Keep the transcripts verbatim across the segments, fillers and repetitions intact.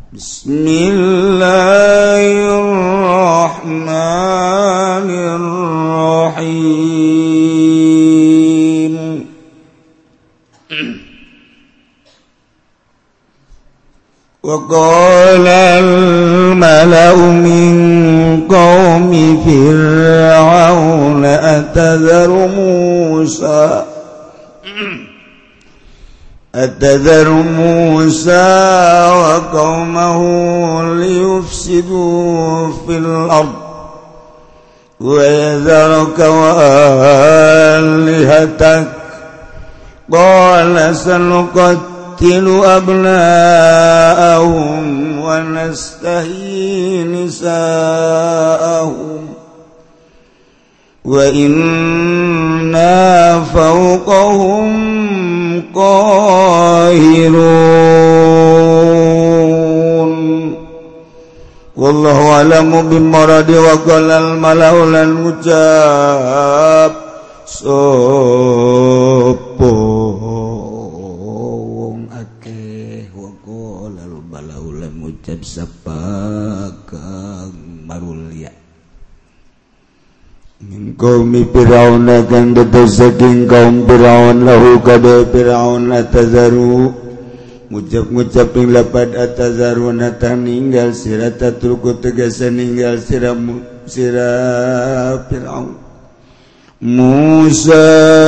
Bismillahirrahmanirrahim. Wa qala al-mala'u min qaumi fir'auna atadharu Musa atadharu Musa wa qaumahu liyufsidu fil ard wa yadharuka wa alihatak qala sanuqattilu abna'ahum wa nastahyi nisa'ahum wa inna fawqahum qahirun. Wallahu a'lamu bimuradi. Wa qala al-mala'u lan ucap sapa wong akeh. Wa qala al-mala'u lan ucap sapa kang marulya min qaumi Fir'aun kang dados saking kaum Fir'aun lahu kada Fir'aun atazaru ngucap-ngucap ing lapad atazaru nata ninggal sira tatruku tegese ninggal sira sira Fir'aun Musa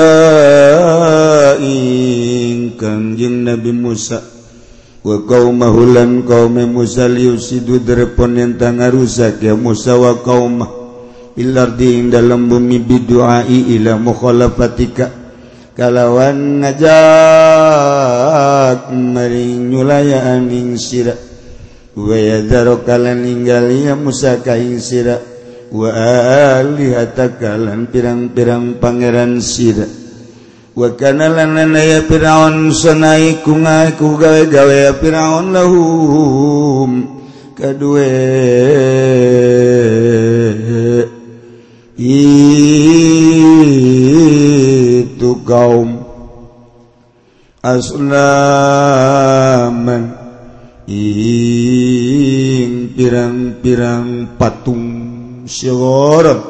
ing kanjeng Nabi Musa wa qaumahu lan kaum Musa liusidu drepon yen tangarusak ya Musa wa qaumah ilardi ing dalam bumi bidu'ai ila mukhalafatika kalawan ngajak maring nyulayaan ing sira wa yadharu kalan ninggal ya Musa ka ing sira wa alihataka lan pirang-pirang pangeran sira wa kana lan ya Fir'aun sanai kungaku gawe-gawe ya Fir'aun lahum kadue itu kaum aslaman ing pirang-pirang patung syigoran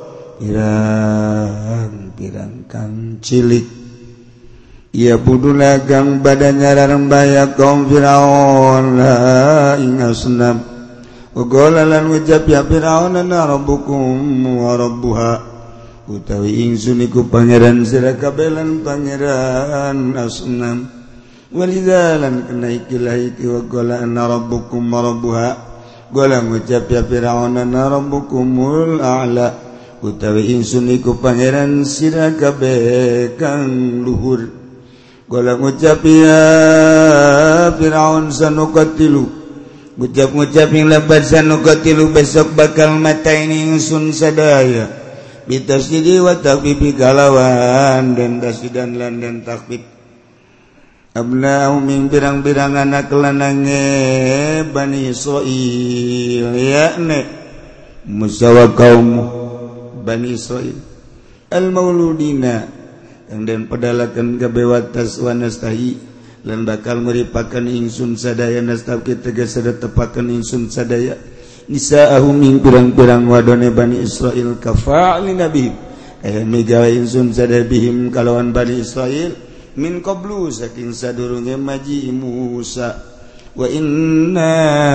pirang-pirang kang cilik ia buduna kang badannya rarembaya kaum Fir'aun ing asnam Qala lan ucap ya Fir'aun ana rabbukum wa rabbuha utawi ingsun iku pangeran sira kabeh lan pangeran asnam walidalan kena ikilah iki wa qala ana rabbukum wa rabbuha qala ucap ya Fir'aun ana rabbukumul a'la utawi ingsun iku pangeran sira kabeh kang luhur qala ucap ya Fir'aun sanuqatilu ngucap-ngucap yang lebat sanuqatilu besok bakal matain ingsun sadaya bitasdidi wa takbibi kalawan dan tasdidan lan dan takbib abna'u min birang-birang anak lanange Bani Israil yakni Musa wa kaum Bani Israil al-mauludina yang dan pedalakan kabewatas wa nastahi lan bakal meripakan ingsun sadaya nastab kita gesada tepakan ingsun sadaya nisa'ahum ing pirang-pirang wadone Bani Israil kafa'li nabi kaya megawa ingsun sadaya bihim kalawan Bani Israil min qablu saking sadurunge maji Musa wa inna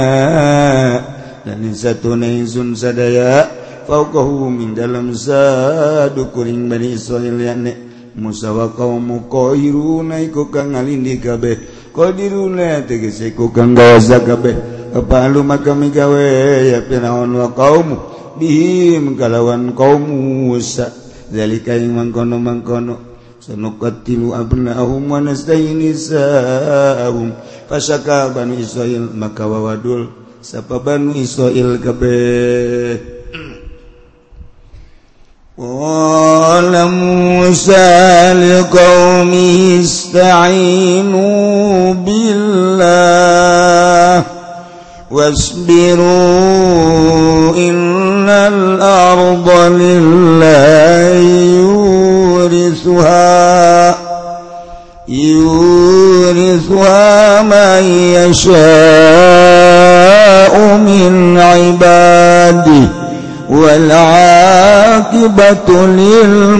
dan satuna ingsun sadaya fauqahu min dalam sadukuring Bani Israil yakni Musa wa qaumu qairuna iku kang ngalindi kabeh qadiruna tegese iku kang gawasa kabeh apa lu maka migawe ya Fir'aun wa qaumu bihim kalawan kaum Musa zalika ing mangkono-mangkono sanuqatilu abna'ahum wa nastahyi nisa'ahum fasaka Bani Israil maka wawadul sapa Bani Israil kabeh Qala Musa liqaumihi ista'inu billah wasbiru innal arda lillahi yurithuha yurithuha man yasha yasha'u min ibadihi wal 'aqibatu lil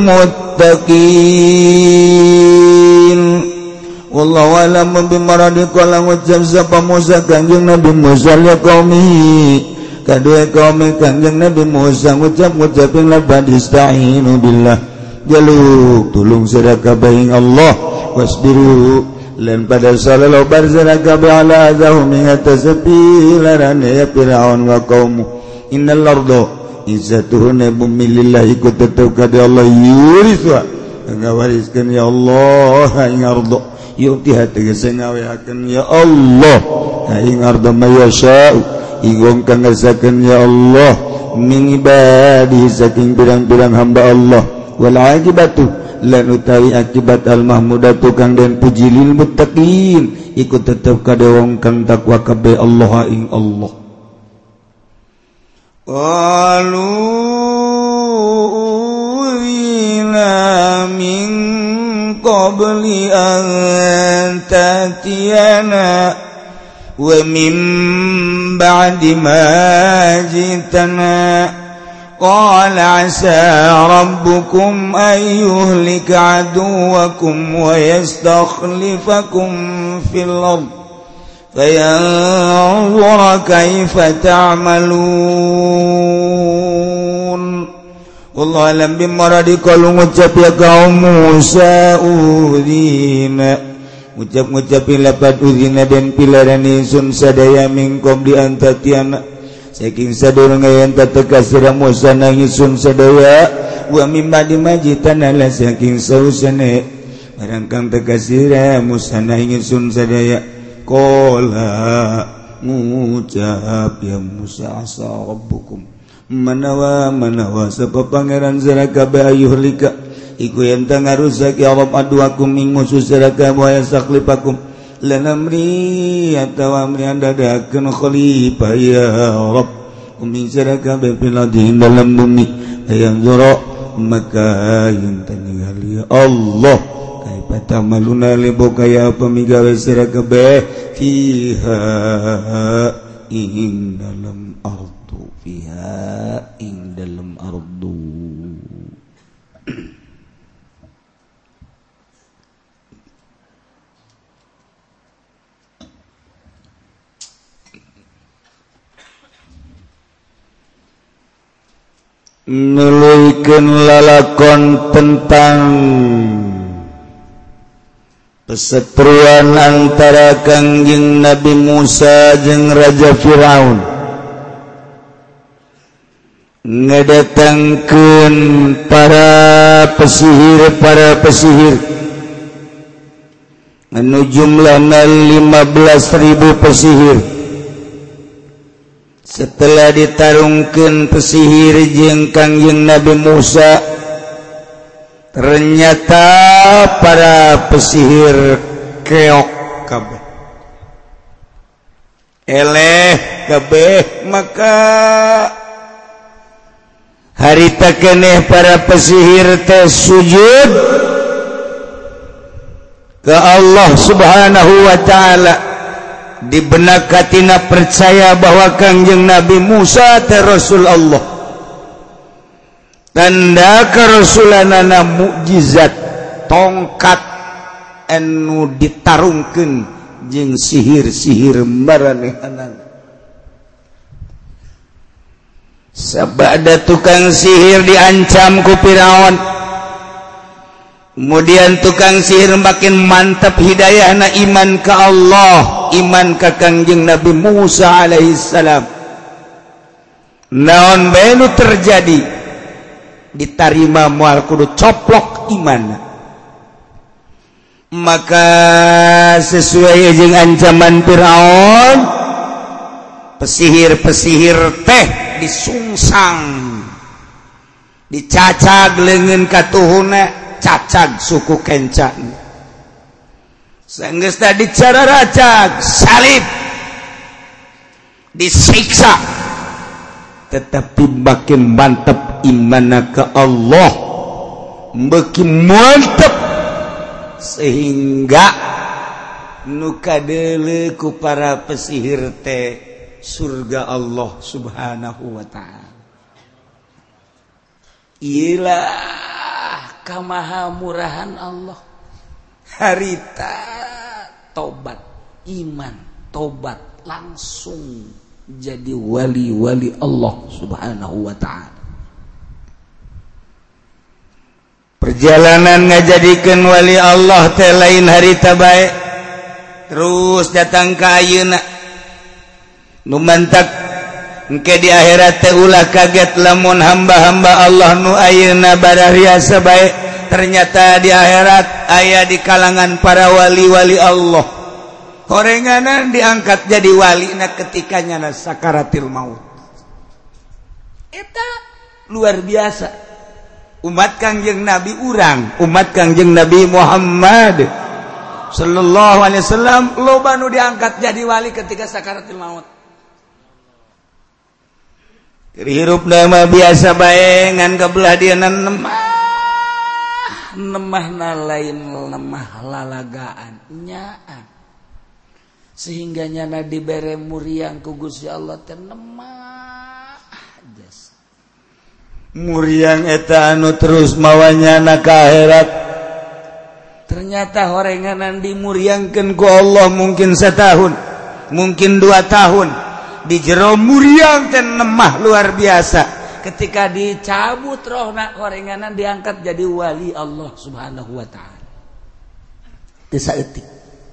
muttaqin. Wallahu a'lam bimaradi. Qala ngucap sapa Musa kanjeng Nabi Musa ya qaumi kadue kaum kanjeng Nabi Musa ngucap-ngucap ing labad ista'inu billah jaluk tulung sira kabeh ing Allah wasbiru lan pada sallallahu barzana kabeh ala azahum ing atas pilarane ya Firaun wa qaum innal arda izzatuhuna bumi lillahi ku tetep ka Allah yuriswa ngawariskeun ya Allah ing arda yuti tegese ngaweakeun ya Allah ing arda mayasya ingong kang ngersakeun ya Allah min ibadi saking pirang-pirang hamba Allah wal aqibatu lan utawi akibat al mahmudatu kang den puji lil muttaqin iku tetep ka wong kang takwa kabeh Allah ing Allah. Qalu ina min qabli an tatiyana wa min ba'di ma jitana qala asa rabbukum an yuhlika aduwakum wa yastakhlifakum fil ard fayanzura kaifa ta'malun. Wallahu a'lam bimaradi. Qalu ngucap ya kaum Musa udhina ngucap-ngucap lapat udhina dan pilaran insun sadaya mingkom di antatiana saking sadurunge yen tateka sira Musa nangisun sadaya wa mimma dimajitana la saking sausane barang kang teka sira Musa nangisun sadaya qala ngucap ya Musa asa rabbukum manawa manawa sapa pangeran sira kabeh ayuhlika iku yen ngarusak ya Rabb aduakum ing musuh sira kabeh wa yastakhlifakum lan amri atawa amri andadakeun khalifah ya Rabb umi sira kabeh fil ardi dalam bumi ayang zura maka yen ningali ya Allah kaifa ta'maluna libuka ya pamigawe sira kabeh fiha ing dalam ardu fiha ing dalam ardu. Nuluykeun lalakon tentang perseteruan antara kangjeng Nabi Musa jeung Raja Firaun ngadatangkeun para pesihir para pesihir anu jumlahna lima belas ribu pesihir. Setelah ditarungkeun pesihir jeung kangjeng Nabi Musa ternyata para pesihir keok kabeh eleh kabeh maka harita keneh para pesihir teh sujud ke Allah Subhanahu wa ta'ala di benak hatina percaya bahwa kangjeng Nabi Musa teh Rasul Allah tanda kerasulanana mukjizat tongkat anu ditarungkeun jeung sihir-sihir maranehanana. Sabada tukang sihir diancam ku Firaun, kemudian tukang sihir makin mantap hidayahna iman ke Allah, iman ke kangjeng Nabi Musa alaihissalam. Naon bae nu terjadi ditarima moal kudu coplok iman. Maka sesuai jeung ancaman Firaun, pesihir-pesihir teh disungsang, dicacag leungeun katuhuna, cacag suku kencan. Sanggeus tadi cara racag, salib, disiksa, tetapi makin mantap imanna ke Allah, makin mantap sehingga nu kadeuleu ku para pesihir teh surga Allah Subhanahu wa ta'ala. Iyalah kamahamurahan Allah. Harita tobat iman, tobat langsung jadi wali-wali Allah Subhanahu wa ta'ala. Perjalanan ngajadikeun wali Allah teh lain harita bae. Terus datang ka ayeuna. Nu mantak engke di akhirat teh ulah kaget lamun hamba-hamba Allah nu ayeuna barariasa bae. Ternyata di akhirat aya di kalangan para wali-wali Allah. Horenganan diangkat jadi wali na ketika nyana sakaratil maut. Eta luar biasa. Umat Kangjeng Nabi urang, umat Kangjeng Nabi Muhammad sallallahu alaihi wasallam loba nu diangkat jadi wali ketika sakaratul maut. Hirup nama biasa bae ngan kabelah dieuna nemah. Nemahna lain lemah lalagaan nyaan. Sehingga nyana dibere muriang ku Gusti Allah teh nemah. Muriang eta anu terus mawanyana ka akhirat. Ternyata horenganan dimuriangkeun ku Allah mungkin setahun, mungkin dua tahun. Di jero muriang teh nemah luar biasa. Ketika dicabut rohna horenganan diangkat jadi wali Allah Subhanahu wa ta'ala. Teu saeutik.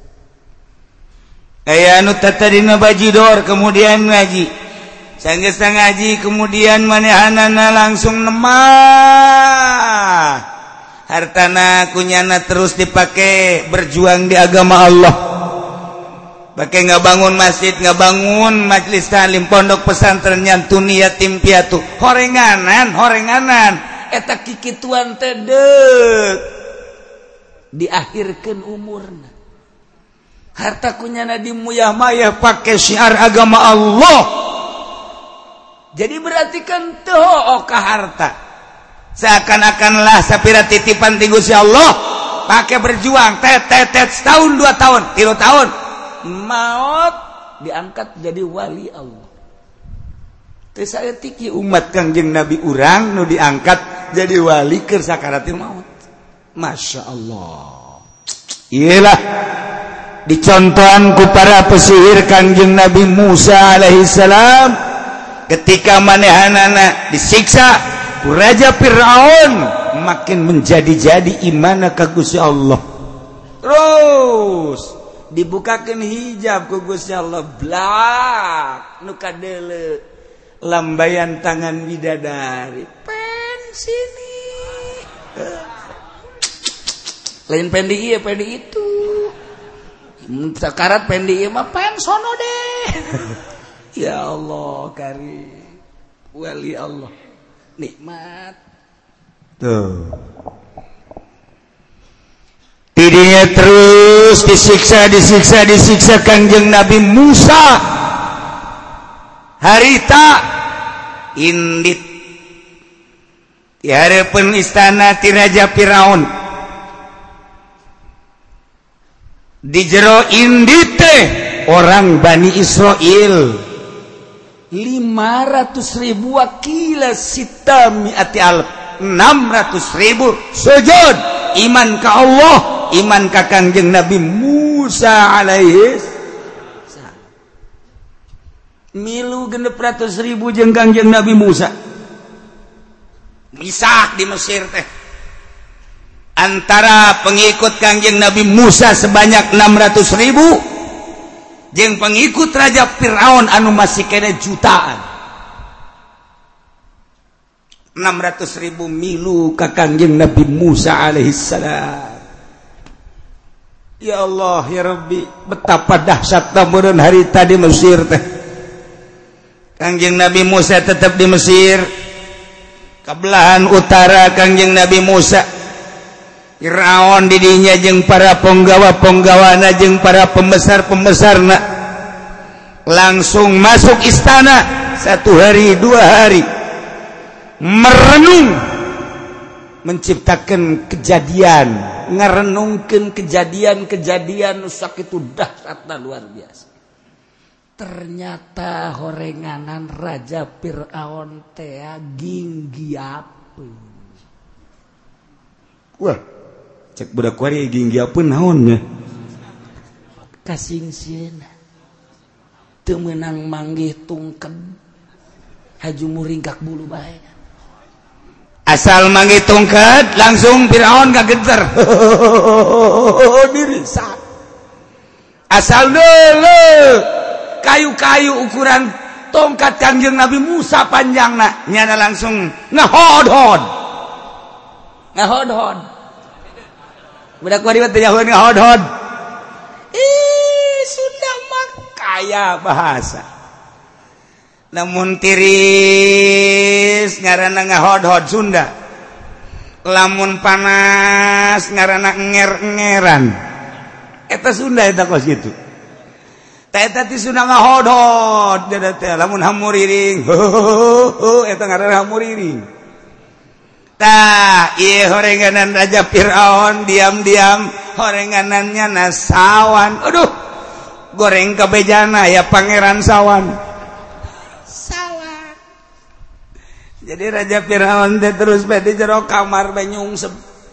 Aya anu tatadina bajidor kemudian ngaji. Sanggeus ngaji kemudian manehanana langsung nemah. Hartana kunyana terus dipake berjuang di agama Allah. Pake ngabangun masjid, ngabangun majelis taklim, pondok pesantren, nyantuni yatim piatu. Horenganan, horenganan. Eta kikituan teh deuk diakhirkeun umurna. Harta kunyana dimuyah-mayah pake syiar agama Allah. Jadi berarti kan teu ka harta. Seakan-akanlah sapira titipan ti Gusti Allah, pakai berjuang tet tet tet setahun dua tahun, tiga tahun, maut diangkat jadi wali Allah. Teu saeutik umat Kangjeng Nabi urang nu diangkat jadi wali keur sakaratil maut. Masya Allah. Iyalah dicontohan ku para pesihir Kangjeng Nabi Musa alaihi salam. Ketika manehanana disiksa ku Raja Fir'aun, makin menjadi-jadi imana ka Gusti Allah. Terus dibukakeun hijab ku Gusti Allah, blak nu kadeuleu lambayan tangan bidadari. Pen sini. Lain pen di ieu, pen di itu. Sakarat pen di ieu mah pen sono deh. Ya Allah karim, wali Allah, nikmat. Tuh. Tidinya terus disiksa, disiksa, disiksa Kangjeng Nabi Musa. Harita indit di harapan istana ti Raja Firaun. Di jero indit teh orang Bani Israel. lima ratus ribu wakila sita mi'ati alf, enam ratus ribu sujud iman ka Allah, iman ka Kangjeng Nabi Musa alaihi salam. Milu genep ratus ribu jeung Kangjeng Nabi Musa misak di Mesir teh. Antara pengikut Kangjeng Nabi Musa sebanyak enam ratus ribu jeung pengikut Raja Fir'aun anu masih kena jutaan. enam ratus ribu milu ka Kangjeng Nabi Musa alaihi salam. Ya Allah ya Rabbi, betapa dahsyatna meureun harita di Mesir teh. Kangjeng Nabi Musa tetap di Mesir. Kabelahan utara Kangjeng Nabi Musa Fir'aun didinya jeung para penggawa-penggawana jeung para pembesar-pembesarna langsung masuk istana satu hari dua hari merenung menciptakan kejadian, ngarenungkeun kejadian-kejadian sakitu dahsyatna luar biasa. ternyata horenganan Raja Fir'aun teh ginggiapeun. Wah, cek budak kuari ginggiapeun naon nya? Kasingseun. Teu meunang manggih tungked. Haju muringkak bulu bae. Asal manggih tungked langsung Fir'aun kageter. Dirisa. Asal dulu kayu-kayu ukuran tongkat Kangjeng Nabi Musa panjangna nyana langsung ngahodhod ngahodhod budak kuari teh nyaho ngahodhod. Ih, Sunda mah kaya bahasa. Lamun tiris ngaranna ngahodhod Sunda. Lamun panas ngaranna enger-engeran. Eta Sunda eta kos gitu. Ta eta ti Sunda ngahodhod da teh lamun hamuriring. Eta ngaranna hamuriring. Tah ieu horenganan Raja Fir'aun diam-diam horenganannya nasawan. Aduh. Goreng kabejana ya Pangeran Sawan. Sawan. Jadi Raja Fir'aun teh terus bae di jero kamar bae nyungsep.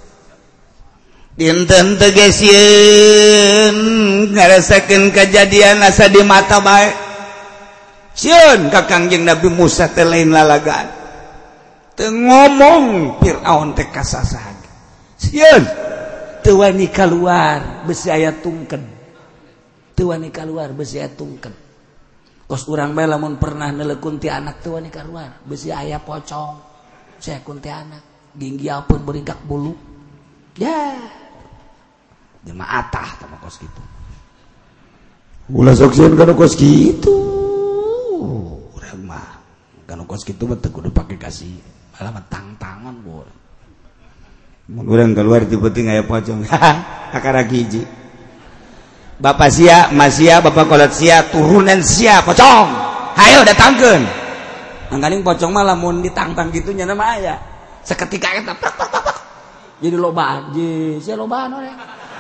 Dinten tegesieun ngarasakeun kajadian asa di mata bae. Sieun ka Kangjeng Nabi Musa teh lain lalagaan. Teu ngomong Fir'aun teh kasasahan. Sieun teu wani kaluar besi aya tungked. Teu wani kaluar besi aya tungked. Kos urang bae lamun pernah nelekun ti anak teu wani kaluar besi aya pocong. Saya kun ti anak ginggiapeun beringkak bulu. Ya. Jemaatah sama kos gitu. Ulah sok sieun kana kos gitu. Urang mah kana kos gitu mah teu kudu pake kasih, malah mah tang-tangan bor. Mun urang keluar tiba-tiba aya pocong. Akara hiji. Bapak sia, Mas sia, Bapak kolot sia, turunan sia pocong. Hayo datangkeun. Angganing pocong mah lamun ditantang kitu nya mah aya. Saketika eta jadi lobaan, je, sia lobaan we.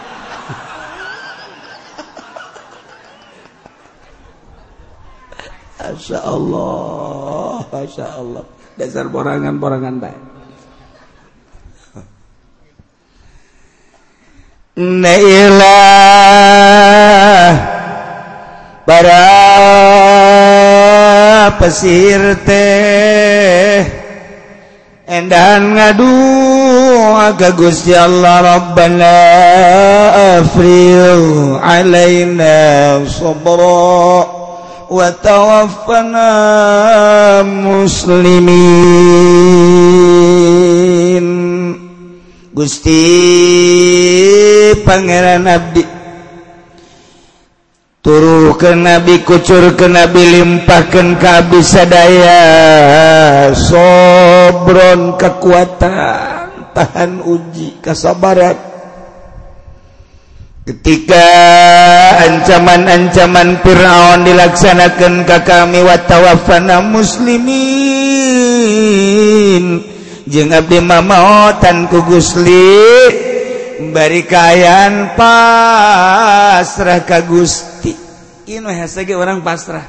Masya Allah, Masya Allah. Dasar borangan-borangan baik. Nailah para pesir teh endan ngadu aga Gusti Allah Rabbana afril alaina sabra wa tawaffana muslimin. Gusti Pangeran Abdi turuhkeun Nabi, kucurkeun Nabi, limpahkeun ka abdi sadaya sobron kekuatan, tahan uji, kesabaran ketika ancaman-ancaman Fir'aun dilaksanakan ka kami wa tawaffana muslimin. Jeung abdi mamaotan ku Gusti bari kaayaan pasrah ka Gusti. Ieu hese ge urang pasrah.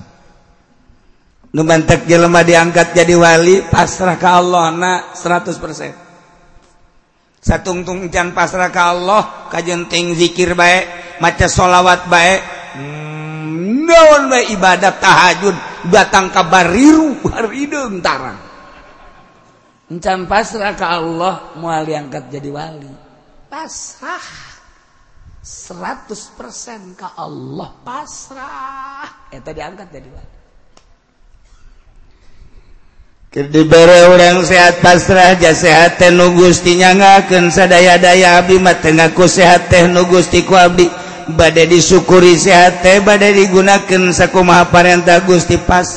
Nu mantek jelema diangkat jadi wali pasrah ka Allah na seratus persen. Satungtung can pasrah ka Allah, kajenting zikir bae, maca sholawat bae, hmm, naon bae ibadat tahajud, datang ka bariru barideung tarang. Encan pasrah ka Allah moal diangkat jadi wali. Pasrah seratus persen ka Allah, pasrah eta diangkat jadi wali. Keur dibere urang sehat pasrah ja sehat teh nu Gusti nyangakeun sadaya-daya abdi mah teu ngaku sehat teh nu Gusti ku abdi bade disyukuri sehat teh bade digunakeun sakumaha parentah Gusti,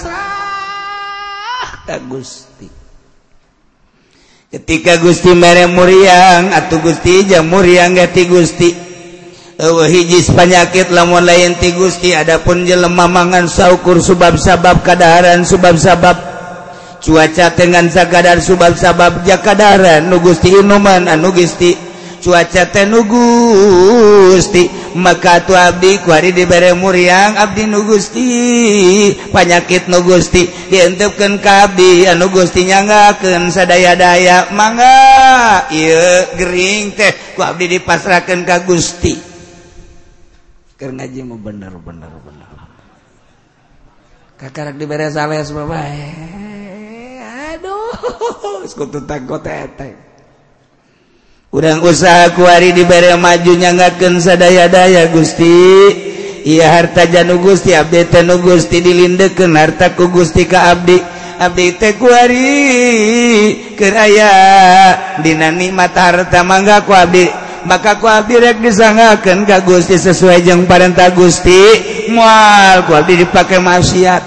pasrah ka Gusti. Ketika Gusti mere muriang atuh Gusti ja muriang ge ti Gusti. Eueuh hiji panyakit lamun lain ti Gusti, adapun jelema mangan saukur subab-sabab kadaharan subab-sabab cuaca dengan sakadar subab-sabab jakadaran nu Gusti inuman anu Gusti cuaca teh nu Gusti maka tu abdi kuari dibere muriang abdi nu Gusti panyakit nu Gusti dientupkeun ka abdi anu Gusti nyanggakeun sadaya-daya mangga ieu gering teh ku abdi dipasrahkeun ka Gusti keur ngaji mah bener-bener bener kakarak dibere sales bae aduh sekutu takut teteh urang usaha kuari dibere maju nyanggakeun sadaya-daya Gusti ieu harta janu Gusti abdi teh nu Gusti dilindeukeun harta ku Gusti ka abdi abdi teh kuari keur aya dina nikmat harta mangga ku abdi maka ku abdi rek disangakeun ka Gusti sesuai jeung parentah Gusti moal ku abdi dipake maksiat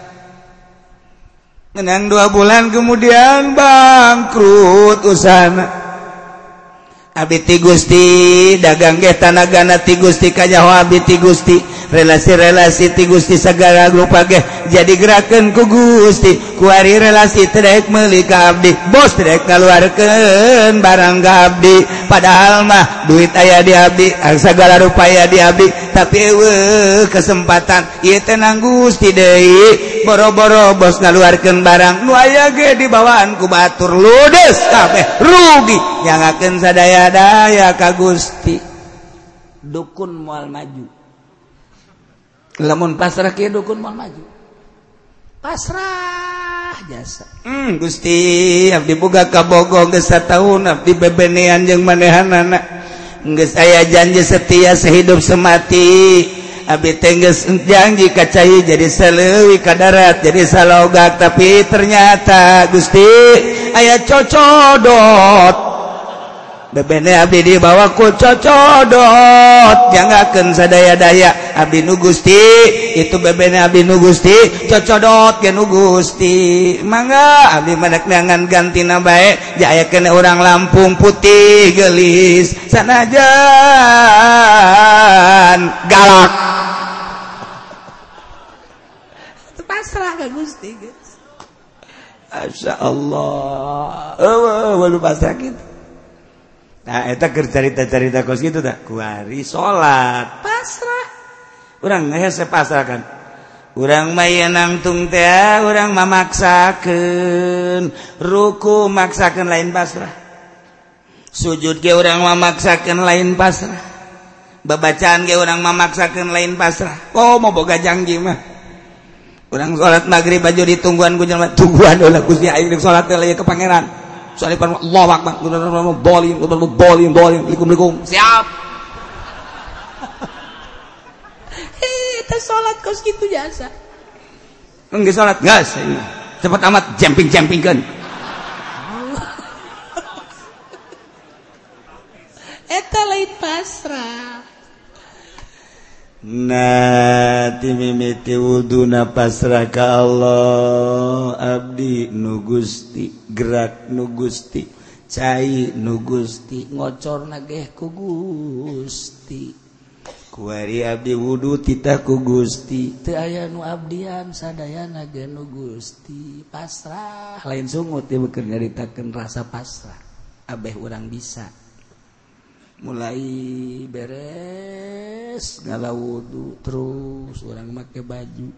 menang dua bulan kemudian bangkrut usahana abdi ti Gusti dagang ge tanagana ti Gusti kanyaho abdi ti Gusti relasi-relasi ti Gusti sagala rupa ge jadi gerakeun ku Gusti kuari relasi teh daek meuli ka abdi bos teh daek ngaluarkeun barang ka abdi padahal mah duit aya di abdi sagala rupa aya di abdi tapi eueuh kesempatan ieu teh nang Gusti deui boro-boro bos ngaluarkeun barang nu aya ge dibawaan ku batur ludes kabeh rugi nyangakeun sadaya-daya ka Gusti dukun moal maju lamun pasrah kieu dukun moal maju pasrah jasa hmm, Gusti abdi boga kabogo geus sataun abdi bebenean jeung manehanana geus aya janji setia sehidup semati abdi teh geus janji ka cai jadi saleuwi ka darat jadi salogak tapi ternyata Gusti aya cocodot bebene abdi dibawa ku cocodot jangakeun sadaya-daya abdi nu Gusti itu bebene abdi nu Gusti cocodot ge nu Gusti mangga abdi madak neangan gantina bae jayakeun urang Lampung putih geulis sanajan galak pasrah ka Gusti geus masyaallah eueuh walu pasrah kitu. Nah, eta keur carita-carita kos kitu tah. Kuari salat, pasrah. Urang hese pasrah kan. Urang mah yen nangtung teh urang mah maksakeun, ruku maksakeun lain pasrah. Sujud ge urang mah maksakeun lain pasrah. Babacaan ge urang mah maksakeun lain pasrah. Oh, mau boga janji mah. Urang salat magrib baju ditungguan ku jelema, tungguan ulah Gusti aing rek salat teh ke pangeran. Soalnya Allahu Akbar, boling, boling, boling, likum-likum, siap. Eh, itu sholat kos gitu jasa. Enggak sholat, gas. Cepat amat, jumping-jumping kan. Eta lain pasrah. Nah, timimiti wuduna pasrah ka Allah abdi nu Gusti gerak nu Gusti cai nu Gusti ngocorna ge ku Gusti kuari abdi wudu titah ku Gusti teu aya nu abdian sadayana ge nu Gusti pasrah lain sungut teh beukeun nyaritakeun rasa pasrah abeh urang bisa mulai beres ngala wudu terus orang make baju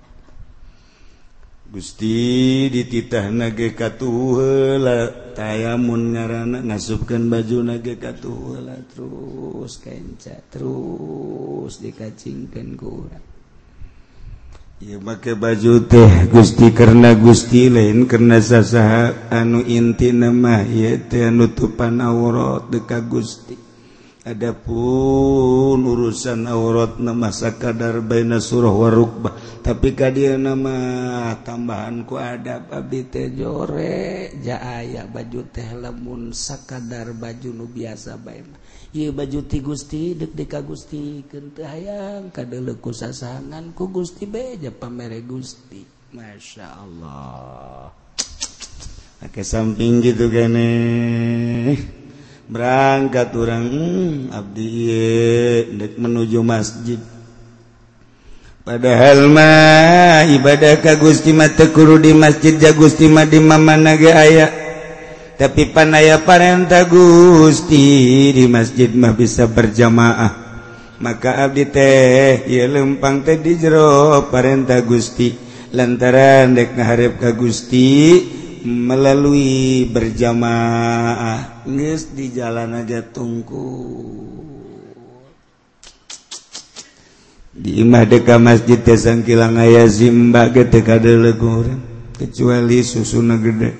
Gusti dititahna ge katuheula tayamun ngaranna ngasupkeun bajuna ge katuheula terus kenca terus dikacingkeun ku urang ieu make baju teh Gusti karena Gusti lain karena sasaha anu intina mah ieu teh nutupan aurat deka Gusti. Adapun urusan aurat nama sakadar baina surah warukbah tapi kadia nama tambahan ku adab abdi teh jore jaaya baju teh lamun sakadar baju nu biasa bae ieu baju ti Gusti deuk deuk ka Gusti keun teu hayang kadeuleuh ku sasangan ku Gusti beja pamere Gusti masyaallah ake samping gitu keneh berangkat orang hmm, abdi ieu dek menuju masjid padahal mah ibadah ka Gusti mah teu kudu di masjid ja Gusti mah di mamana ge aya tapi pan aya parentah Gusti di masjid mah bisa berjamaah maka abdi teh ieu lempang teh di jero parentah Gusti lantaran dek ngaharep ka Gusti melalui berjamaah geus di jalan aja tungkul di imah deka masjid teh sangkilang aya zimba ge teu kadeuleuh urang kecuali susuna gede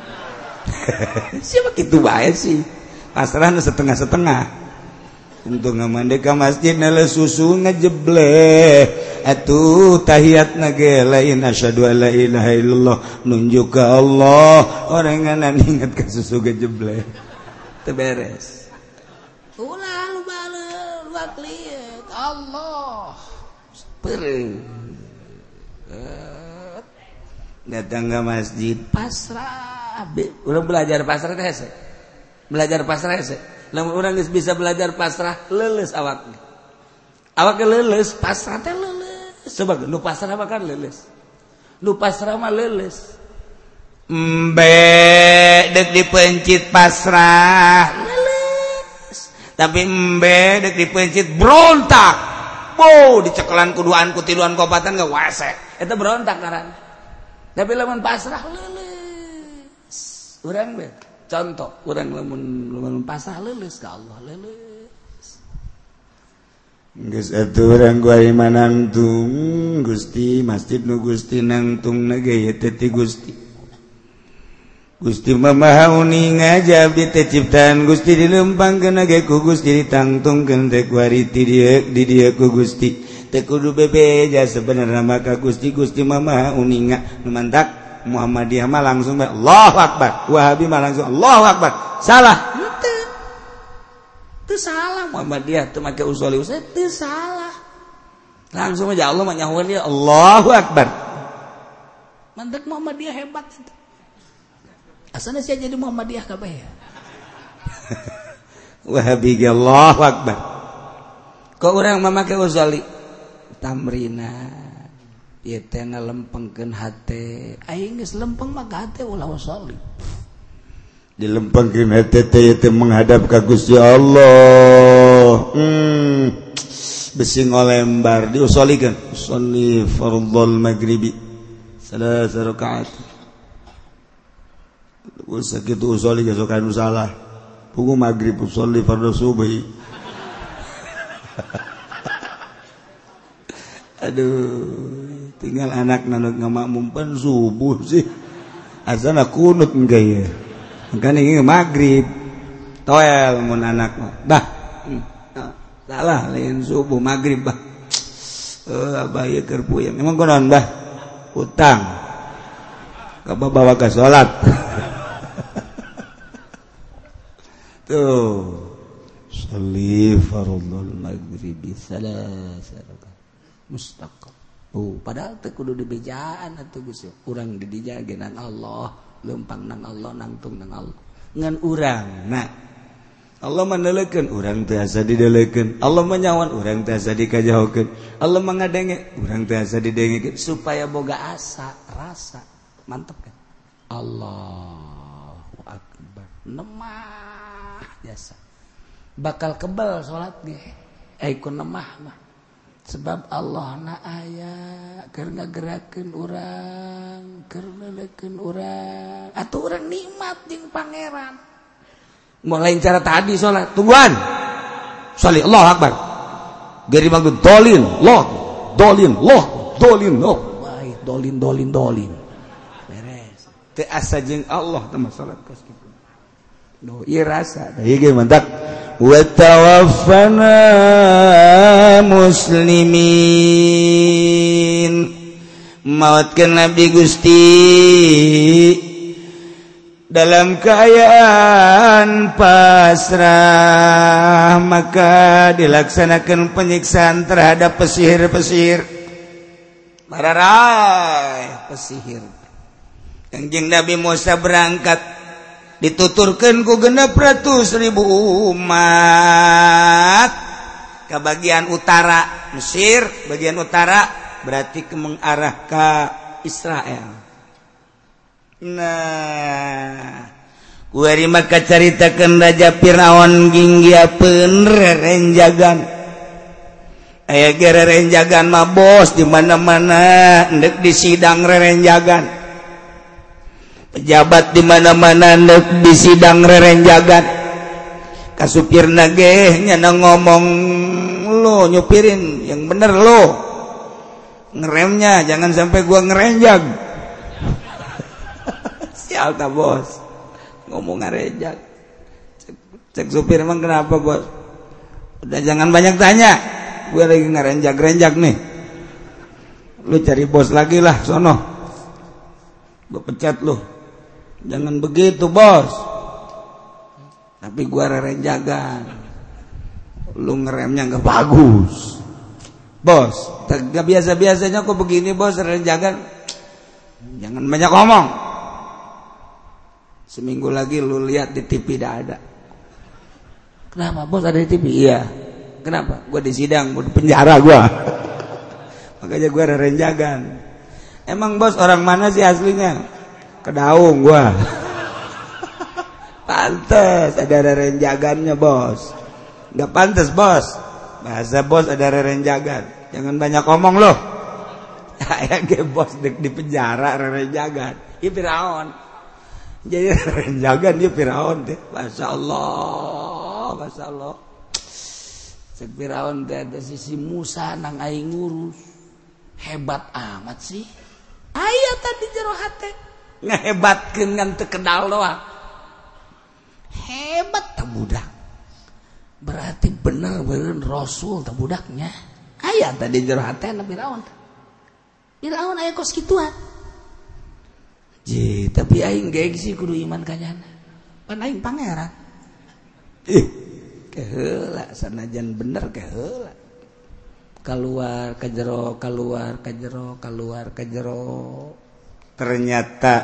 siapa kitu bae sih pasrahna setengah-setengah untuk ngamandeka masjid nala susu ngejebleh atuh tahiyatna ge lain asyhadu alla ilaha illallah nunjuk ka Allah orang ngana ingat ka susu gejebleh teu beres ulah baleul wakliat Allah pereu datang ke masjid pasrah urang belajar pasrah teh hese belajar pasrah hese lamun urang geus bisa belajar pasrah leuleus awakna awak leuleus pasrah teh leuleus coba nu pasrah mah kan leuleus nu pasrah mah leuleus embe deuk dipencit pasrah leuleus tapi embe deuk dipencit berontak bo dicekelan kuduan ku tiluan kopatan ge wese eta berontak ngaran tapi lamun pasrah leuleus urang we contoh urang lamun lamun pasrah leuleus ka Allah leuleus geus atuh urang ku ari manangtung Gusti masjid nu Gusti nangtungna ge teh ti Gusti Gusti mah maha uning ngajab di teh ciptaan Gusti dilempangkeun ge ku Gusti ditangtungkeun teh ku ari ti dieu di dieu ku Gusti teh kudu bebeja sebenarna mah ka Gusti Gusti mah maha uninga nu mantak Muhammadiyah mah langsung Allahu Akbar Wahabi mah langsung Allahu Akbar salah henteu teu salah Muhammadiyah teu make usuli usah teu salah langsung aja Allah mah nyahueun dia Allahu Akbar mantek Muhammadiyah hebat itu asana sia jadi Muhammadiyah kabeh Wahabi ge Allahu Akbar kok urang mah make usuli tamrina ieu teh ngalempengkeun hate aing geus lempeng mah ka hate ulah usoli dilempengkeun hate teh teh menghadap ka Gusti Allah hmm besi ngolembar diusolikeun sholli fardhul maghribi salasa rakaat usah kitu usoli geus kana salah pugu maghrib usoli fardhu subhi aduh tinggal anak nanut ngamakmumpan subuh sih azana kunut engke ya makanya ini maghrib toel mun anak mah bah salah lain subuh maghrib bah eh abah ieu keur puyeng emang kunaon bah utang kabah bawa ka salat tuh sholli fardhul maghribi salasa rakaat mustaqim oh padahal teh kudu dibejaan atuh Gusti urang di dinya ge nang Allah leumpang nang Allah nangtung nang Allah ngan urang nah Allah maneulekeun urang teh asa dideulekeun Allah manyawan urang teh asa dikajahokeun Allah mangadenge urang teh asa didengekeun supaya boga asa rasa mantep kan Allahu Akbar nemah biasa bakal kebal salat ge ai ku nemah mah sebab Allah na aya keur ngagerakeun urang keur neulekeun urang atuh urang nikmat jeung pangeran mulai cara tadi salat tungguan sholli Allahu Akbar geri maksud dolin loh dolin loh dolin loh baik dolin dolin dolin beres teu asa jeung Allah teh salat kos kitu do ieu rasa ieu ge mantap wa tawaffana muslimin mautkeun abdi Gusti dalam keadaan pasrah maka dilaksanakan penyiksaan terhadap pesihir-pesihir mararai pesihir Kangjeng Nabi Musa berangkat dituturkan ku genep ratus ribu umat ke bagian utara Mesir bagian utara berarti ke mengarah ke Israel. Nah kuari maka caritakeun Raja Firaun ginggiapeun rerenjagan aya ge rerenjagan mah bos di mana-mana endek di sidang rerenjagan pejabat di mana-mana endek di sidang rerenjagan kasupirna ge nya ngomong lo nyupirin yang bener lo ngeremnya jangan sampai gua ngerenjag sial ta bos ngomong ngerenjag cek, cek supir emang kenapa bos udah jangan banyak tanya gue lagi ngerenjag-renjag nih lu cari bos lagi lah sono gue pecat lu jangan begitu bos tapi gue renjagan lu ngeremnya gak bagus bos gak biasa-biasanya kok begini bos renjagan jangan banyak ngomong seminggu lagi lu lihat di T V dah ada kenapa bos ada di T V iya kenapa? Gue di sidang, gue di penjara gue. Makanya gue rerenjagan. Emang bos orang mana sih aslinya? Kedaung gue. Pantes ada rerenjagannya bos. Gak pantes bos. Bahasa bos ada rerenjagan. Jangan banyak ngomong loh. Ya ge bos di, di penjara rerenjagan. Iya Firaun. Jadi rerenjagan dia Firaun deh. Masya Allah, Masya Allah. Cek Firaun teh ada sisi Musa nang aing ngurus hebat amat sih aya tadi jero hate ngahebatkeun ngan teu kenal doang hebat teh budak berarti bener bener rasul teh budaknya aya tadi jero hate na Firaun Firaun aya kos kituan ji tapi aing gengsi kudu iman ka nyana pan aing pangeran ih keheula sanajan bener keheula keluar ke jero keluar ke jero keluar ke jero ternyata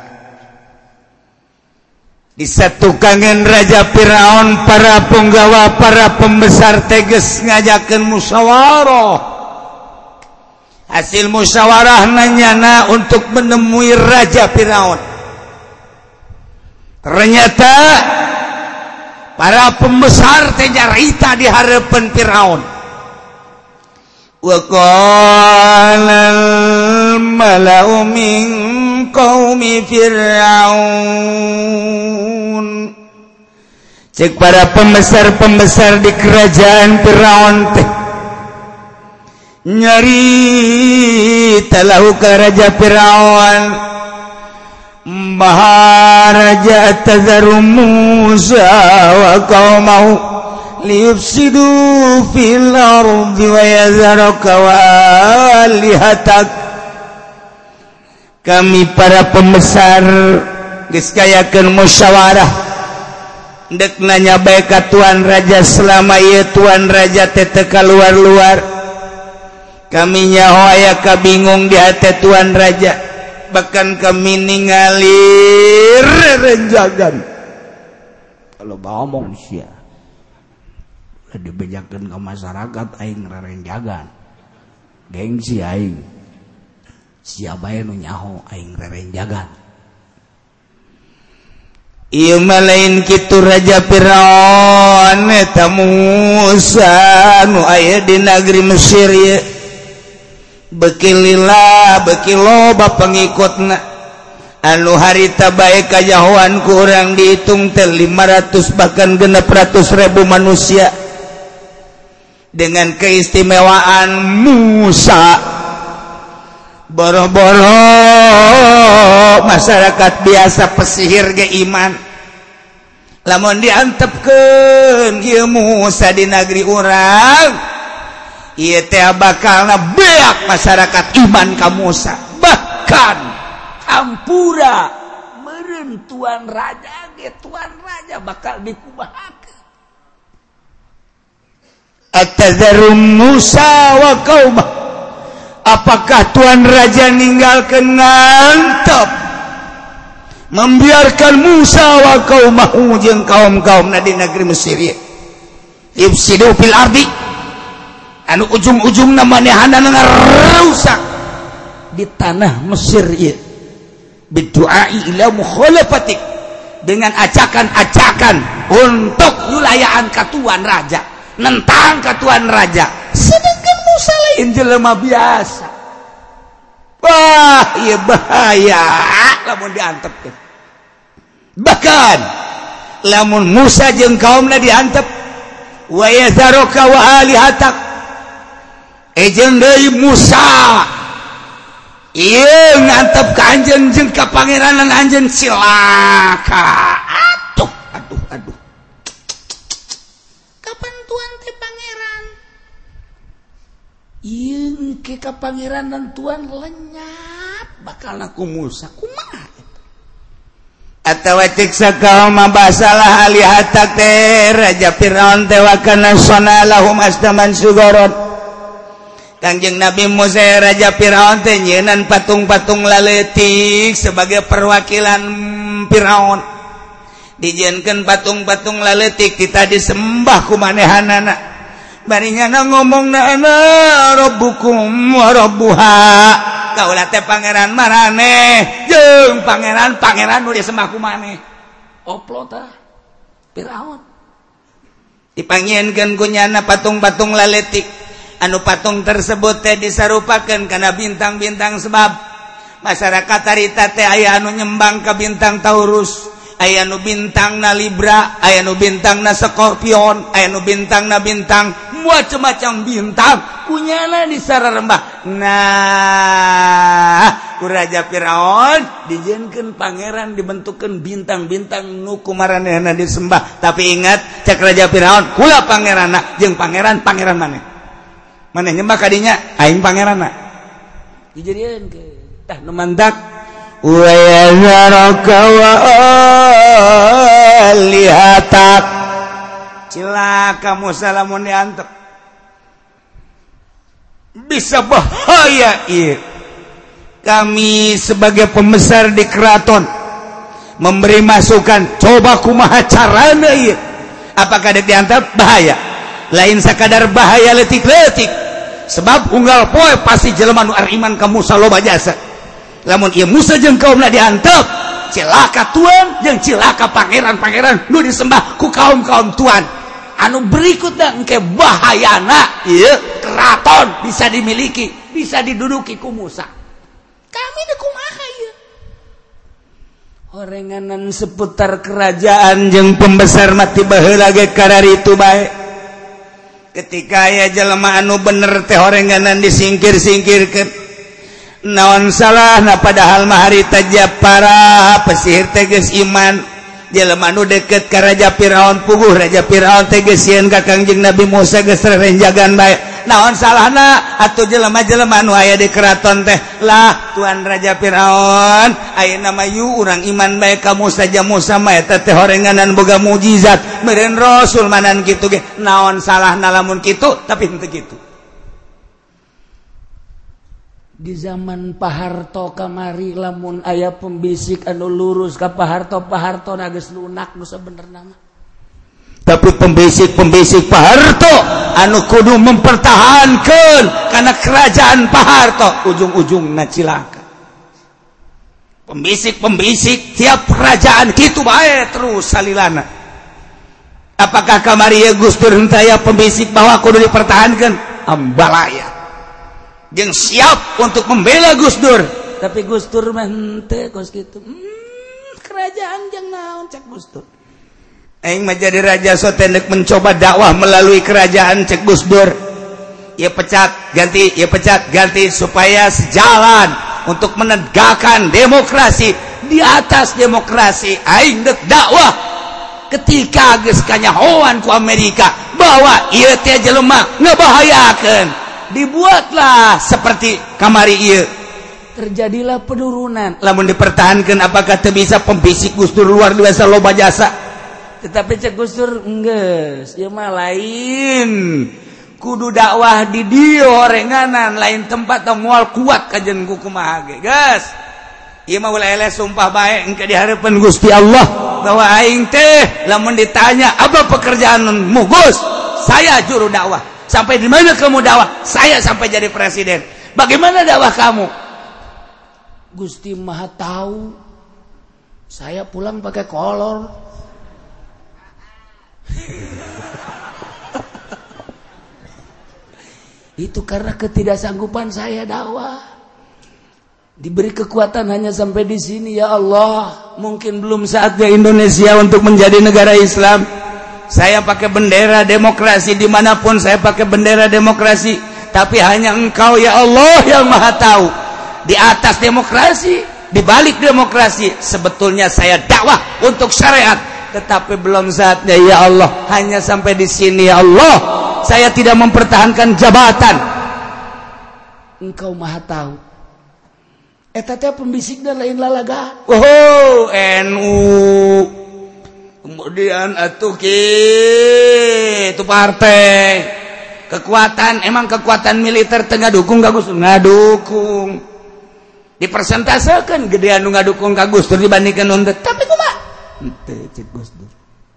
disatukangan Raja Firaun para penggawa para pembesar teges ngajakeun musyawarah hasil musyawarah nanyana untuk menemui Raja Firaun ternyata para pembesar teh nyarita di harapan Firaun. Wa qala al-mala'u min qaumi Firaun. Cek para pembesar-pembesar di kerajaan Firaun teh nyarita lahu ka Raja Firaun. Maharaja tazaru Musa wa qaumahu liyufsidu fil ardi wa yazaraka wa alihatak kami para pembesar geus kayakeun musyawarah dek nanya bae ka tuan raja selama ieu tuan raja teh teu kaluar-luar kami nyaho aya kabingung di hate tuan raja bahkan kami ningali rerenjagan kalau ngomong sia dibejakeun ke masyarakat aing rerenjagan gengsi aing sia bae nu nyaho aing rerenjagan ieu mah lain kitu Raja Firaun eta Musa nu aya di negeri Mesir ye beki lila beki loba pengikutna anu harita bae kajahoan ku urang dihitung teh lima ratus bahkan genep ratus ribu manusia dengan keistimewaan Musa boro-boro masyarakat biasa pesihir ge iman lamun diantepkeun ieu Musa di negeri urang ieu teh bakalna beak masyarakat iman ka Musa bahkan ampura meureun tuan raja ge tuan raja bakal dikumahakeun atazarum Musa wa qaumah apakah tuan raja ninggalkeun ngantep membiarkan Musa wa qaumahu jeung kaum-kaumna di negeri Mesir ieu yufsidu fil ardi anu ujung-ujungna manehana ngarusak di tanah Mesir ieu biduai ila mukhalafatik dengan acakan-acakan untuk yulayaan ka tuan raja nentang ka tuan raja sedangkan Musa lain jelema biasa. Wah, iya bahaya lamun diantep. Bahkan lamun Musa jeung kaumna diantep, wa yazaruka wa alihatak. Ejeun deui Musa ieu ngantep ka anjeun jeung ka pangeranan anjeun cilaka. Aduh, aduh, aduh. Kapan tuan teh pangeran? Ieu engke ka pangeranan tuan lenyap bakal ku Musa kumaha? Atawa cek sakaum basalah alihatak teh Raja Firaun teh wa kana sonalahum astaman sugoron. Kangjeng Nabi Musa Raja Firaun teh nyeunan patung-patung laletik sebagai perwakilan Firaun. Dijieunkeun patung-patung laletik kita disembah ku manehanana. Barinya ngomongna ana rabbukum wa rabbuha. Kaulah teh pangeran maraneh jeung pangeran-pangeran nu disembah ku maneh. Oplo tah Firaun. Dipangieunkeun ku nyana patung-patung laletik. Anu patung tersebut teh disarupakeun kana bintang-bintang sebab masyarakat harita teh aya anu nyembang ka bintang Taurus, aya nu bintangna Libra, aya nu bintangna Scorpion, aya nu bintangna bintang macam-macam bintang kunyana disararembah. Nah, ku Raja Firaun dijieunkeun pangeran dibentukeun bintang-bintang nu kumaranehna disembah. Tapi ingat cek Raja Firaun kula pangeranna jeung pangeran pangeran maneh. Maneh nyembah kadinya aing pangeranna. Dijadieun ke tah nu mantak wa yazaraka wa alihatak. Cilaka Musa lamun diantep. Bisa bahaya ieu. Kami sebagai pembesar di keraton memberi masukan, coba kumaha carana ieu. Apakah dek diantep bahaya? Lain sakadar bahaya letik-letik. Sebab unggal poe pasti jelema nu ariman ka Musa loba jasa. Lamun ieu Musa jeung kaumna diantep, cilaka tuan jeung cilaka pangeran-pangeran nu disembah ku kaum-kaum tuan. Anu berikutna engke bahayana ieu keraton bisa dimiliki, bisa diduduki ku Musa. Kami teh kumaha ieu? Horenganan seputar kerajaan jeung pembesar mati baheula ge kararitu bae. Ketika aya jelema anu bener teh horenganan disingkir-singkirkeun. Naon salahna padahal mah harita Japara pesihir teh geus iman. Jelema anu deket ka Raja Firaun puguh Raja Firaun teh geus sieun ka Kangjeng Nabi Musa geus rerenjagan bae. Naon salahna atuh jelema-jelema anu aya di keraton teh? Lah tuan Raja Firaun ayeuna mah yu urang iman bae ka Musa ja Musa mah eta teh horenganan boga mukjizat meureun rasul manan kitu ge. Naon salahna lamun kitu? Tapi henteu kitu. Di zaman Pak Harto kamari lamun aya pembisik anu lurus ka Pak Harto, Pak Harto na geus lunak nu sabenerna mah. Tapi pembisik-pembisik Pak Harto anu kudu mempertahankeun kana kerajaan Pak Harto ujung-ujungna cilaka. Pembisik-pembisik tiap kerajaan kitu bae terus salilana. Apakah kamari ya Gus Dur henteu aya pembisik bahwa kudu dipertahankeun? Ambalaya. Jeung siap untuk membela Gus Dur. Tapi Gus Dur mah henteu kos kitu. Hmm, kerajaan jeung naon cek Gus Dur. Aing mah jadi raja so tendek mencoba dakwah melalui kerajaan cek Gus Dur. Ya pecat, ganti, ya pecat, ganti supaya sejalan untuk menegakkan demokrasi. Di atas demokrasi aing dek dakwah ketika geus kanyahoan ku Amerika bahwa ieu teh jelema ngabahayakeun. Dibuatlah seperti kamari ieu. Terjadilah penurunan. Lamun dipertahankan apakah teu bisa pembisik Gus Dur luar biasa loba jasa. Tetapi cek Gus Dur enggeus, ieu mah lain. Kudu dakwah di dieu horenganan lain tempat teh moal kuat kajen ku kumaha ge. Geus. Ieu mah ulah eleh sumpah bae engke di hareupeun Gusti Allah bahwa aing teh lamun ditanya apa pekerjaanmu Gus? Saya juru dakwah. Sampai di mana kamu dakwah? Saya sampai jadi presiden. Bagaimana dakwah kamu? Gusti Maha tahu. Saya pulang pakai kolor. Itu karena ketidaksanggupan saya dakwah. Diberi kekuatan hanya sampai di sini. Ya Allah, mungkin belum saatnya Indonesia untuk menjadi negara Islam. Saya pakai bendera demokrasi dimanapun, saya pakai bendera demokrasi. Tapi hanya Engkau ya Allah yang Maha tahu. Di atas demokrasi, di balik demokrasi, sebetulnya saya dakwah untuk syariat. Tetapi belum saatnya ya Allah. Hanya sampai di sini ya Allah. Saya tidak mempertahankan jabatan. Engkau Maha tahu. Eta teh pembisikna lain lalaga. Oh, N U. Kemudian atuh kitu partai. Kekuatan, emang kekuatan militer teu ngadukung ka Gus Dur? Ngadukung. Dipersentasekeun gedean nu ngadukung ka Gus Dur dibandingkeun nu teu. Tapi kumaha? Henteu cek Gus Dur.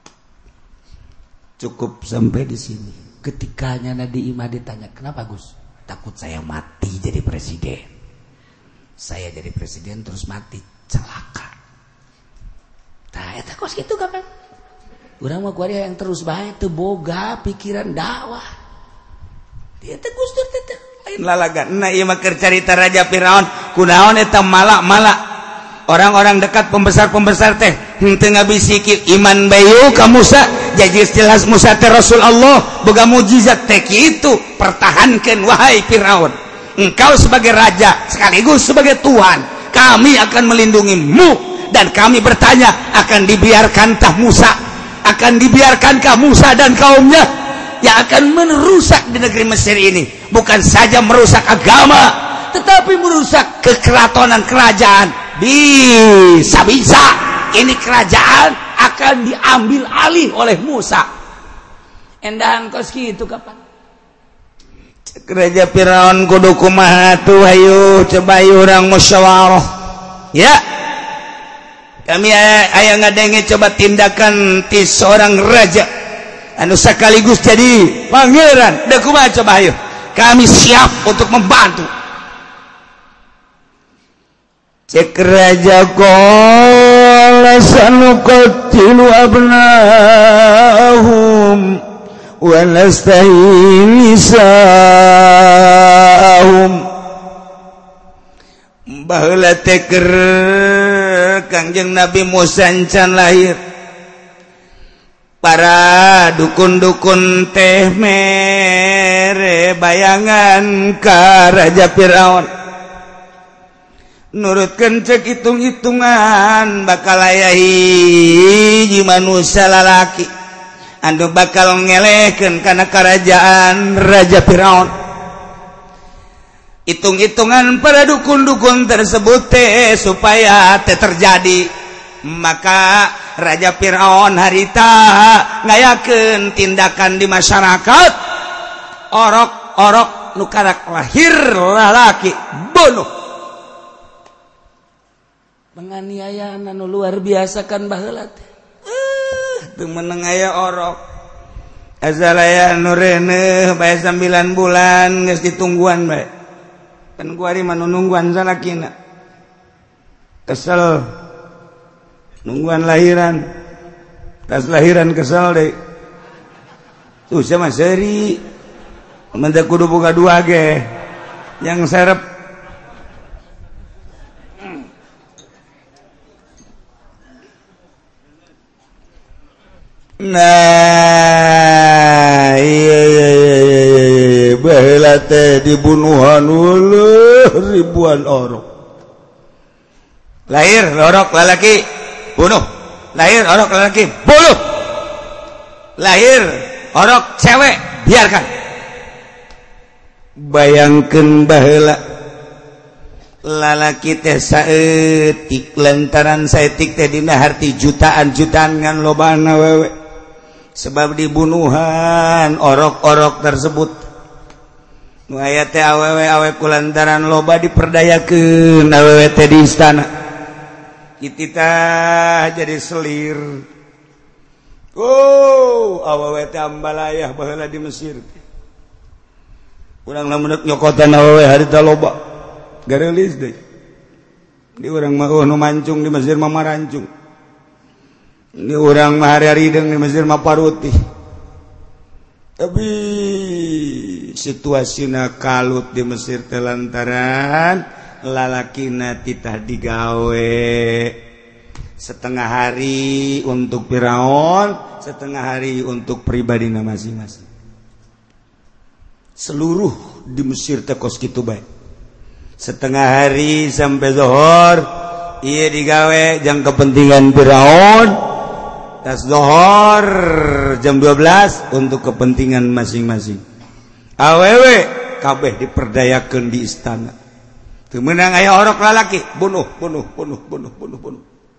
Cukup sampai di sini. Ketikanya Nadi Imah ditanya, "Kenapa Gus?" "Takut saya mati jadi presiden." Saya jadi presiden terus mati celaka. Tah eta kos kitu kapan? Urang mah kuari yang terus bae teu boga pikiran dakwah. Dia teh Gus Dur teh lain lalagan. Nah ieu mah keur carita Raja Firaun, kunaon eta malak-malak. Orang-orang dekat pembesar-pembesar teh henteu ngabisiki iman bayu ka Musa, jadi jelas Musa teh Rasul Allah, boga mujizat teh kitu. Pertahankeun wahai Firaun. Engkau sebagai raja sekaligus sebagai Tuhan, kami akan melindungimu dan kami bertanya, akan dibiarkankah Musa, akan dibiarkankah Musa dan kaumnya yang akan merusak di negeri Mesir ini, bukan saja merusak agama, tetapi merusak kekeratonan kerajaan. Bisa-bisa ini kerajaan akan diambil alih oleh Musa. Endahan kos kitu kapan? Raja Firaun kudu kumaha tuh, hayu coba urang musyawarah ya. Kami aya ngadenge coba tindakan ti seorang raja anu sekaligus jadi pangeran. Da kumaha coba hayu, kami siap untuk membantu. Cek raja qala sanuqatilu abnahum walastahi nisahum. Baheula teh keur Kangjeng Nabi Musa encan lahir, para dukun-dukun teh mere bayangan ka Raja Firaun. Nurutkeun cek hitung-hitungan bakal aya hiji manusia lalaki anu bakal ngelehkeun kana kerajaan Raja Firaun. Hitung-hitungan para dukun-dukun tersebut teh supaya teh terjadi, maka Raja Firaun harita ngayakeun tindakan di masyarakat. Orok-orok nu karak lahir lalaki bunuh. Penganiayaan anu luar biasa kan baheula teh. Teu meneng aya orok. Azalaya nu reuneuh bae sembilan bulan geus ditungguan bae. Kan kuari mah nungguan salakina. Kesel. Nungguan lahiran. Tas lahiran kesel deui. Susah mah seuri. Mun teh kudu boga dua ge. Yang serep. Nah, iya iya iya iya, baheula teh dibunuhan uleuh ribuan orok. Lahir orok lalaki bunuh, lahir orok lalaki bunuh, lahir orok cewek biarkan. Bayangkeun baheula lalaki teh saeutik lantaran saeutik teh dina harti jutaan-jutaan ngan lobana wewe. Sebab dibunuhan orok-orok tersebut. Nu aya teh awewe-awe kulantaran loba diperdayakeun awewe teh di istana. Kitita jadi selir. Oh, awewe teh ambalayah baheula di Mesir. Urang lamun nyokotan awewe harita loba. Garelis deui. Di urang mah nu mancung di Mesir mah marancung. Ini orang mahari rideng di Mesir mah paruti. tapi situasina kalut di Mesir telantaran lalakina titah digawe setengah hari untuk Firaun, setengah hari untuk pribadina masing-masing. Seluruh di Mesir teh kos kitu bae. Setengah hari sampai zuhur ieu digawe jang kepentingan Firaun. Tas zuhur jam dua belas untuk kepentingan masing-masing. Awewe kabeh diperdayakeun di istana. Teu meunang aya orok lalaki, bunuh, bunuh, bunuh, bunuh, bunuh, bunuh.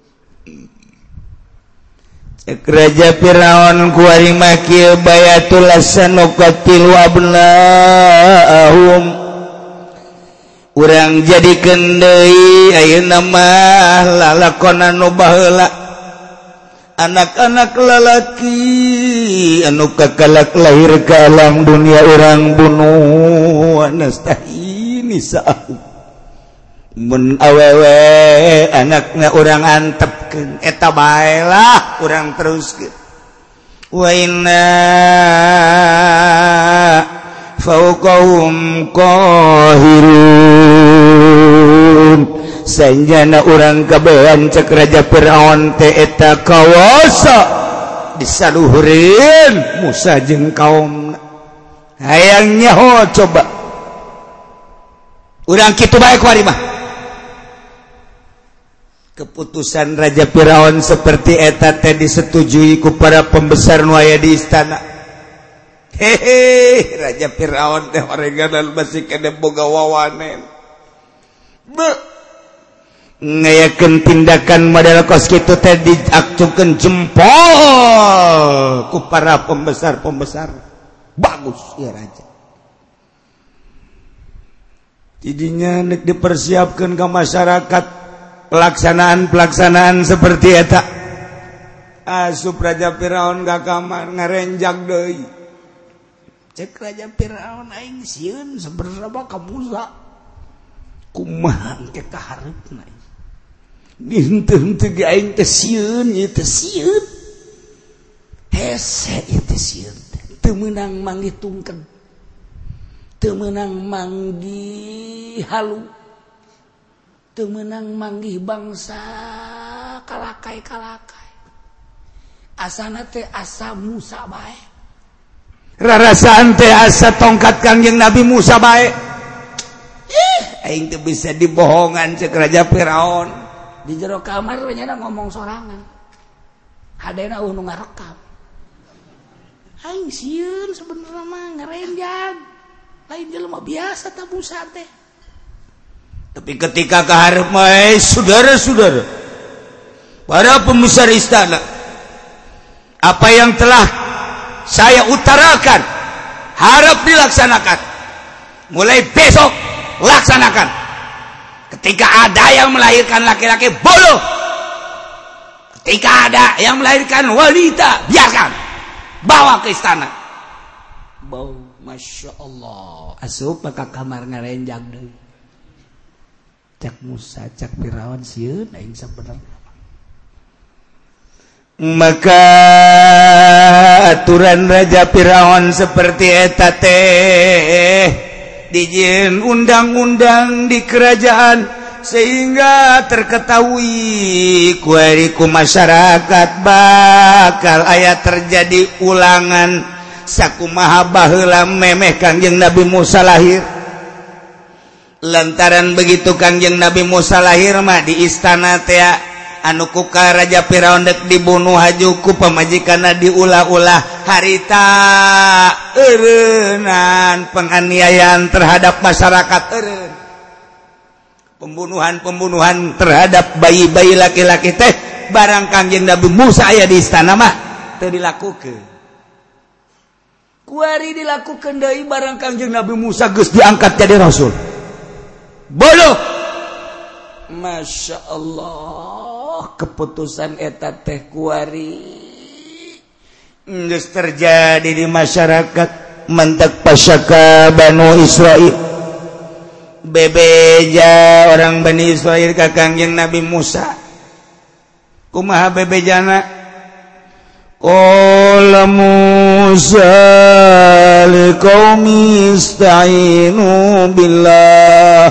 Cek Raja Firaun kuari maki bayatul asanokatil wabnahum. Urang jadikeun deui ayeuna mah lalakonna nu baheula. Anak-anak lalaki anu kakalak lahir ke alam dunia orang bunuh anastahi nisa'u mun awewe anakna orang antepkeun eta bae lah urang teruskeun wa inna fauqahum qahirun sanjana urang kabehan cek Raja Firaun teh eta kawasa disaluhureun Musa jeung kaumna hayang nyaho coba urang kitu bae kuari mah keputusan Raja Firaun seperti eta teh disetujui ku para pembesar nu aya di istana. Hehe, Raja Firaun teh orenganan masih kena boga wawanen. Be ngayakeun tindakan model kos kitu teh diakcukeun jempol ku para pembesar-pembesar. Bagus ya raja. Tidinya nek dipersiapkeun ka masyarakat pelaksanaan-pelaksanaan seperti eta. Asup Raja Firaun ka kamar ngarenjak deui. Cek Raja Firaun aing sieun saberapa ka Musa. Kumaha engke kaharepna. Henteu-henteu ge aing teh sieun ieu teh sieun. Hese ieu teh sieun. Teu meunang manggih tungked. Teu meunang manggih halu. Teu meunang manggih bangsa kalakai-kalakai. Asana teh asa Musa bae. Rarasaan teh asa tongkat Kangjeng Nabi Musa bae. Ih, aing teu bisa dibohongan cek Raja Firaun. Di jero kamar nyana ngomong sorangan. Hadena eueuh nu ngarekam. Aing sieun sebenarnya mah ngarenjang. Lain jelema biasa ta Musa teh. Tapi ketika kaharep mah saudara-saudara, para pembesar istana, apa yang telah saya utarakan harap dilaksanakan. Mulai besok laksanakan. Ketika ada yang melahirkan laki-laki, bodoh. Ketika ada yang melahirkan wanita, biarkan. Bawa ke istana. Bawa, Masya Allah. Asup maka kamar ngarenjang deui. Cak Musa, cak Firaun sieun aing sabenerna. Maka aturan Raja Firaun seperti eta teh dijieun undang-undang di kerajaan sehingga terketahui ku masyarakat bakal aya terjadi ulangan sakumaha baheula memeh Kangjeng Nabi Musa lahir. Lantaran begitu Kangjeng Nabi Musa lahir mah di istana teh anu kuka Raja Firaun dek dibunuh haju ku pamajikanna diulah-ulah harita eureunnan penganiayaan terhadap masyarakat eureun pembunuhan-pembunuhan terhadap bayi-bayi laki-laki teh barang Kangjeng Nabi Musa aya di istana mah teu dilakukeun kuari dilakukeun deui barang Kangjeng Nabi Musa geus diangkat jadi rasul bodoh. Masya Allah keputusan eta teh kuari geus terjadi di masyarakat mentek pasaka Banu Israil bebeja orang Bani Israil ka Kangjeng Nabi Musa kumaha bebejana qala Musa liqaumi ista'inu billah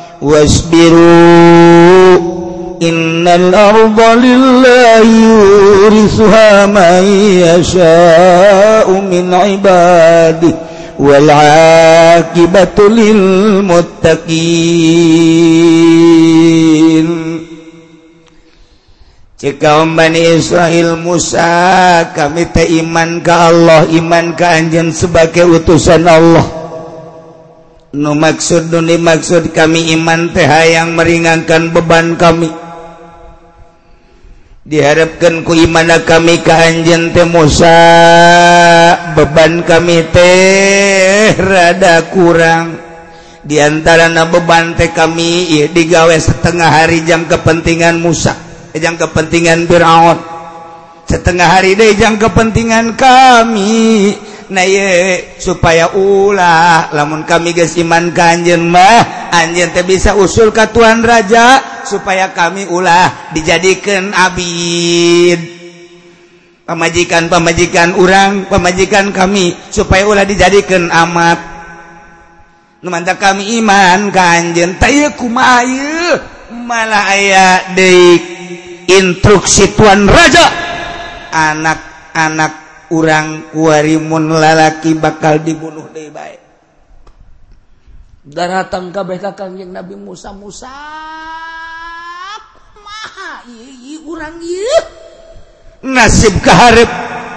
wasbiru innal arda lillahi yurithuha man yasha'u min ibadihi wal 'aqibatu lil muttaqin. Cek kaum Bani Israil Musa, kami teh iman ka Allah, iman ka anjeun sebagai utusan Allah. Nu maksud nu dimaksud kami iman teh hayang meringankan beban kami. Diharapkan ku imana kami ka anjeun teh Musa, beban kami teh rada kurang. Di antarana beban teh kami ieu digawe setengah hari jang kepentingan Musa, jang kepentingan Firaun. Setengah hari deui jang kepentingan kami. Nah ye supaya ulah lamun kami geus iman ka anjeun mah anjeun teh bisa usul ka Tuhan Raja supaya kami ulah dijadikeun abid pamajikan-pamajikan urang, pamajikan kami supaya ulah dijadikeun amat. Nu mantap kami iman ka anjeun teh ieu kumaha ieu malah aya deui instruksi Tuhan Raja anak-anak urang kuarimun lalaki bakal dibunuh deui bae. Datang kabeh ka Kangjeng Nabi Musa, Musa kumaha ieu urang ieu nasib kaharep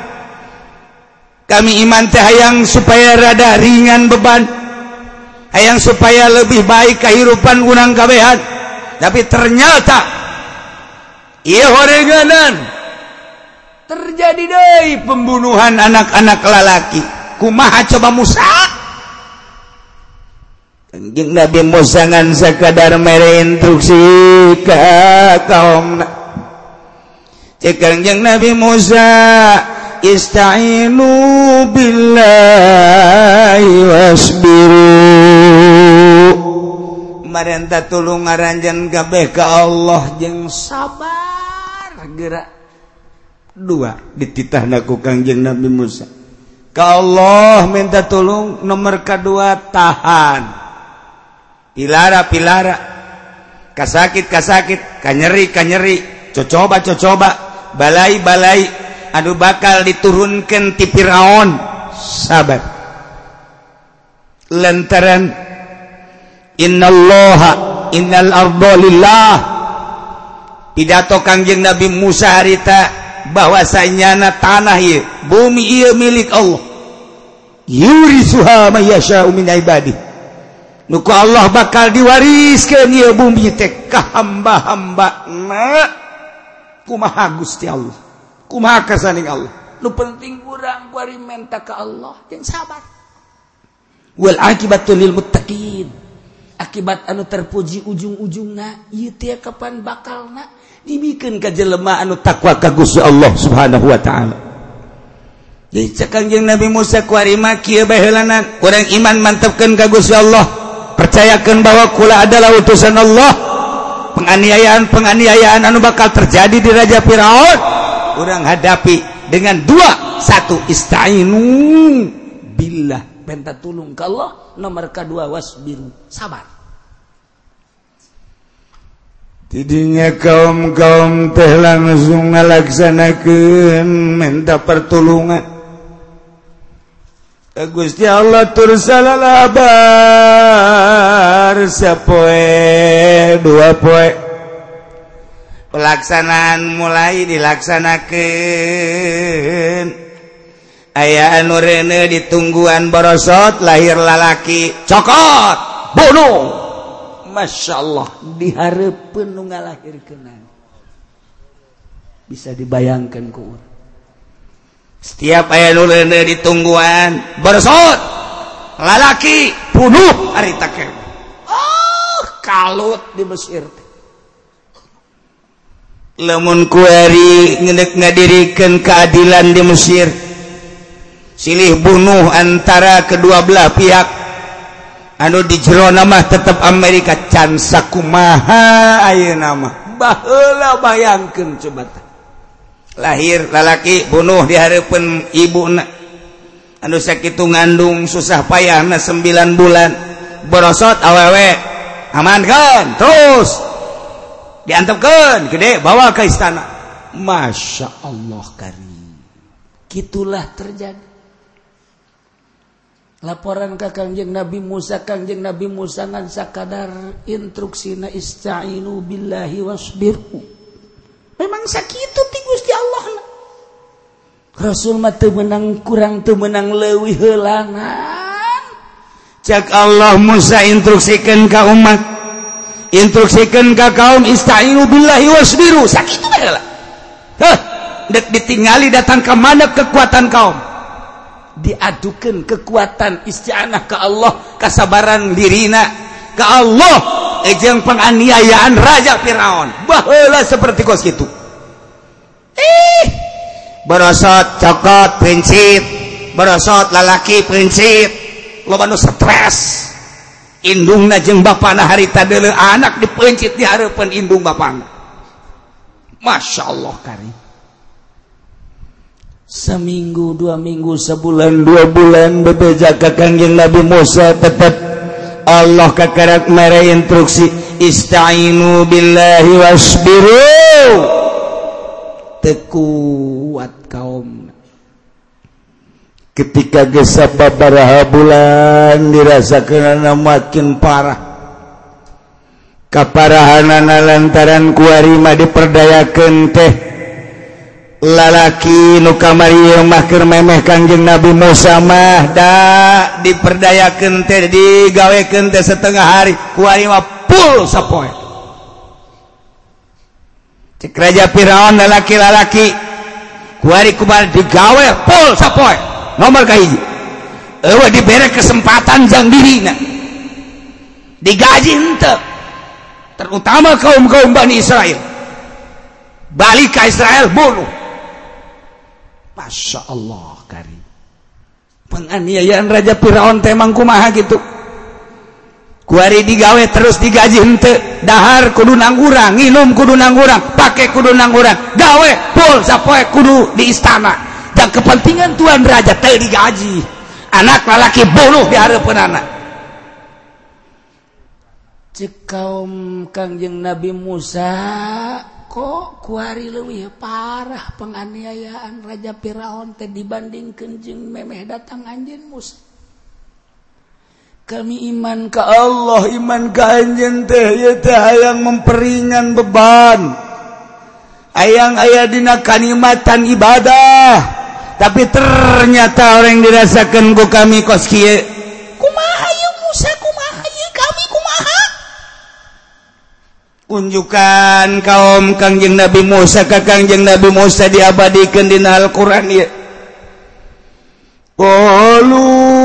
kami iman teh hayang supaya rada ringan beban, hayang supaya lebih baik kehidupan urang kabehan, tapi ternyata ieu horeganan terjadi deui pembunuhan anak-anak lalaki. Kumaha coba Musa? Kangjeng Nabi Musa ngan sakadar mere instruksi ka kaumna. Cek Kangjeng Nabi Musa, ista'inu billahi wasbiru. Marenta tulung ngaranjeun kabeh ka Allah jeung sabar geura. Dua dititahna ku Kangjeng Nabi Musa ka Allah minta tolong, nomor kedua tahan pilara-pilara kasakit-kasakit kanyeri-kanyeri cocoba-cocoba balai-balai anu bakal diturunkeun ti Firaun, sabar lantaran innallaha innal arda lillah. Pidato Kangjeng Nabi Musa harita bahwasanya tanah ieu bumi ieu milik Allah, yurisuha may yasha'u min ibadihi. Nu ku Allah bakal diwariskeun ieu bumi teh ka hamba-hambana. Kumaha Gusti Allah, kumaha kasaning Allah. Nu penting urang kuari menta ka Allah jeung sabar. Wal aqibatu lil muttaqin. Akibat anu terpuji ujung-ujungna ieu teh kapan bakalna dibikeun ka jelema anu takwa ka Gusti Allah Subhanahu wa taala. Jadi Kangjeng Nabi Musa kuari mah kieu baheulana urang iman mantepkeun ka Gusti Allah, percayakeun bahwa kula adalah utusan Allah. Penganiayaan-penganiayaan anu bakal terjadi di Raja Firaun urang hadapi dengan dua, satu ista'inu billah, minta tulung ka Allah, nomor kedua wasbiru, sabar. Tidinya kaum-kaum teh langsung ngalaksanakeun minta pertolongan. Gusti Allah tur salalabar sapoe dua poe. Pelaksanaan mulai dilaksanakeun. Aya anu reuneu ditungguan borosot lahir lalaki cokot bunuh. Masya Allah diharapkan nu ngalahirkeun. Bisa dibayangkan ku urang. Setiap aya nu reuneu ditungguan bersot lalaki bunuh harita kene. Oh, kalut di Mesir. Lamun kuari ngeundeuk ngadirikeun keadilan di Mesir, silih bunuh antara kedua belah pihak. Anu di jero nama tetap Amerika can sakumaha ayeuna mah baheula bayangkeun coba teh lahir lalaki bunuh di harapan ibuna anu sakitu ngandung susah payahna sembilan bulan borosot awewe amankan terus diantepkeun gede bawa ke istana. Masya Allah karim, gitulah terjadi. Laporan ka Kangjeng Nabi Musa, Kangjeng Nabi Musa ngan sakadar instruksina ista'inu billahi wasbiru. Memang sakitu ti Gusti Allah na. Rasul mah teu meunang kurang teu meunang leuwih heulangan. Cak Allah Musa instruksikeun ka umat, instruksikeun ka kaum ista'inu billahi wasbiru. Sakitu bae. Heh, dek ditingali datang ke mana kekuatan kaum. Diadukan kekuatan isti'anah ke Allah, kesabaran dirina ke Allah, ejeng penganiayaan Raja Firaun baheula seperti kos kitu. Eh, borosot cokot prinsip, borosot lalaki prinsip, loba nu stres. Indungna jeung bapana harita deuleu anak dipencit di hareupeun indung bapana. Masya Allah karim. Seminggu, dua minggu, sebulan, dua bulan bebeja ke Kangjeng Nabi Musa tetap Allah kakarak mere instruksi ista'inu billahi wasbiru. Tekuat kaum. Ketika geus sababaraha bulan dirasakeun makin parah. Kaparahanana lantaran kuari mah diperdayakeun teh lalaki nu kamari mah keur memeh Kangjeng Nabi Musa mah da diperdayakeun teh digawekeun teh setengah hari kuari mah full sapoe. Cek Raja Firaun lalaki-lalaki kuari kumaha digawe full sapoe nomor kahiji eueuh dibere kesempatan jang dirina digaji henteu. Terutama kaum-kaum Bani Israel balik ke Israel bunuh. Masya Allah karim, penganiayaan Raja Firaun temang kumaha gitu. Kuari digawe terus digaji henteu, dahar kudu nangurang, nginum kudu nangurang, pake kudu nangurang, gawe full sapoe kudu di istana. Dan kepentingan Tuan Raja teu digaji, anak lalaki bunuh di hareupeun anak. Cek kaum Kangjeng Nabi Musa kok kuari leuwih parah penganiayaan Raja Firaun teh dibandingkeun jeung memeh datang anjeun Musa. Kami iman ka Allah, iman ka anjeun teh ieu teh hayang memperingan beban. Hayang aya dina kanikmatan ibadah, tapi ternyata orang dirasakeun ku kami kos kieu. Kumaha ieu Musa, kumaha ieu kami kumaha? Unjukan kaum Kangjeng Nabi Musa ka Kangjeng Nabi Musa diabadikeun dina Al-Qur'an ieu. Qalu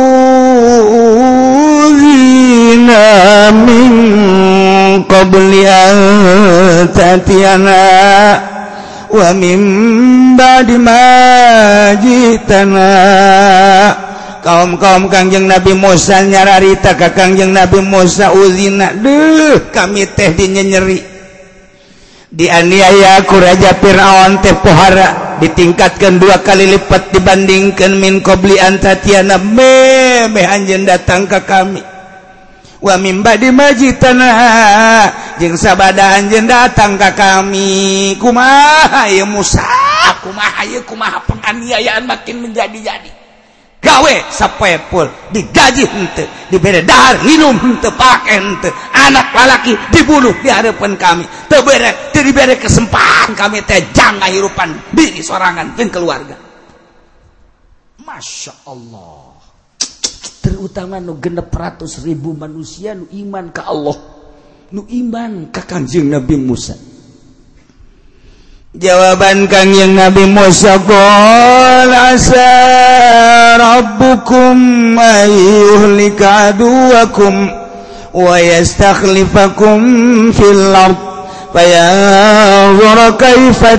zina min qabli an ta'tiyana wa min ba'di ma jitana. Kaum-kaum Kangjeng Nabi Musa nyararita ka Kangjeng Nabi Musa uzina, deuh kami teh dinyenyeri dianiaya ku Raja Firaun teh pohara ditingkatkan dua kali lipat dibandingkan min qabli an ta'tiyana memeh anjeun datang ka kami wa min ba'di majitana jeung sabada anjeun datang ka kami. Kumaha ieu Musa, kumaha ieu, kumaha penganiayaan makin menjadi-jadi. Gawe sapoe full digaji henteu, dibere dahar minum henteu, pake henteu, anak lalaki dibunuh di hareupeun kami, teu bere teu dibere kesempatan kami teh jang ngahirupan diri sorangan jeung keluarga. Masya Allah, terutama nu genep ratus ribu manusia nu iman ka Allah, nu iman ka Kangjeng Nabi Musa. Jawaban Kangjeng Nabi Musa, qul asa rabbukum ayyuhlika aduwakum wa yastakhlifakum fil ard fayanzura kaifa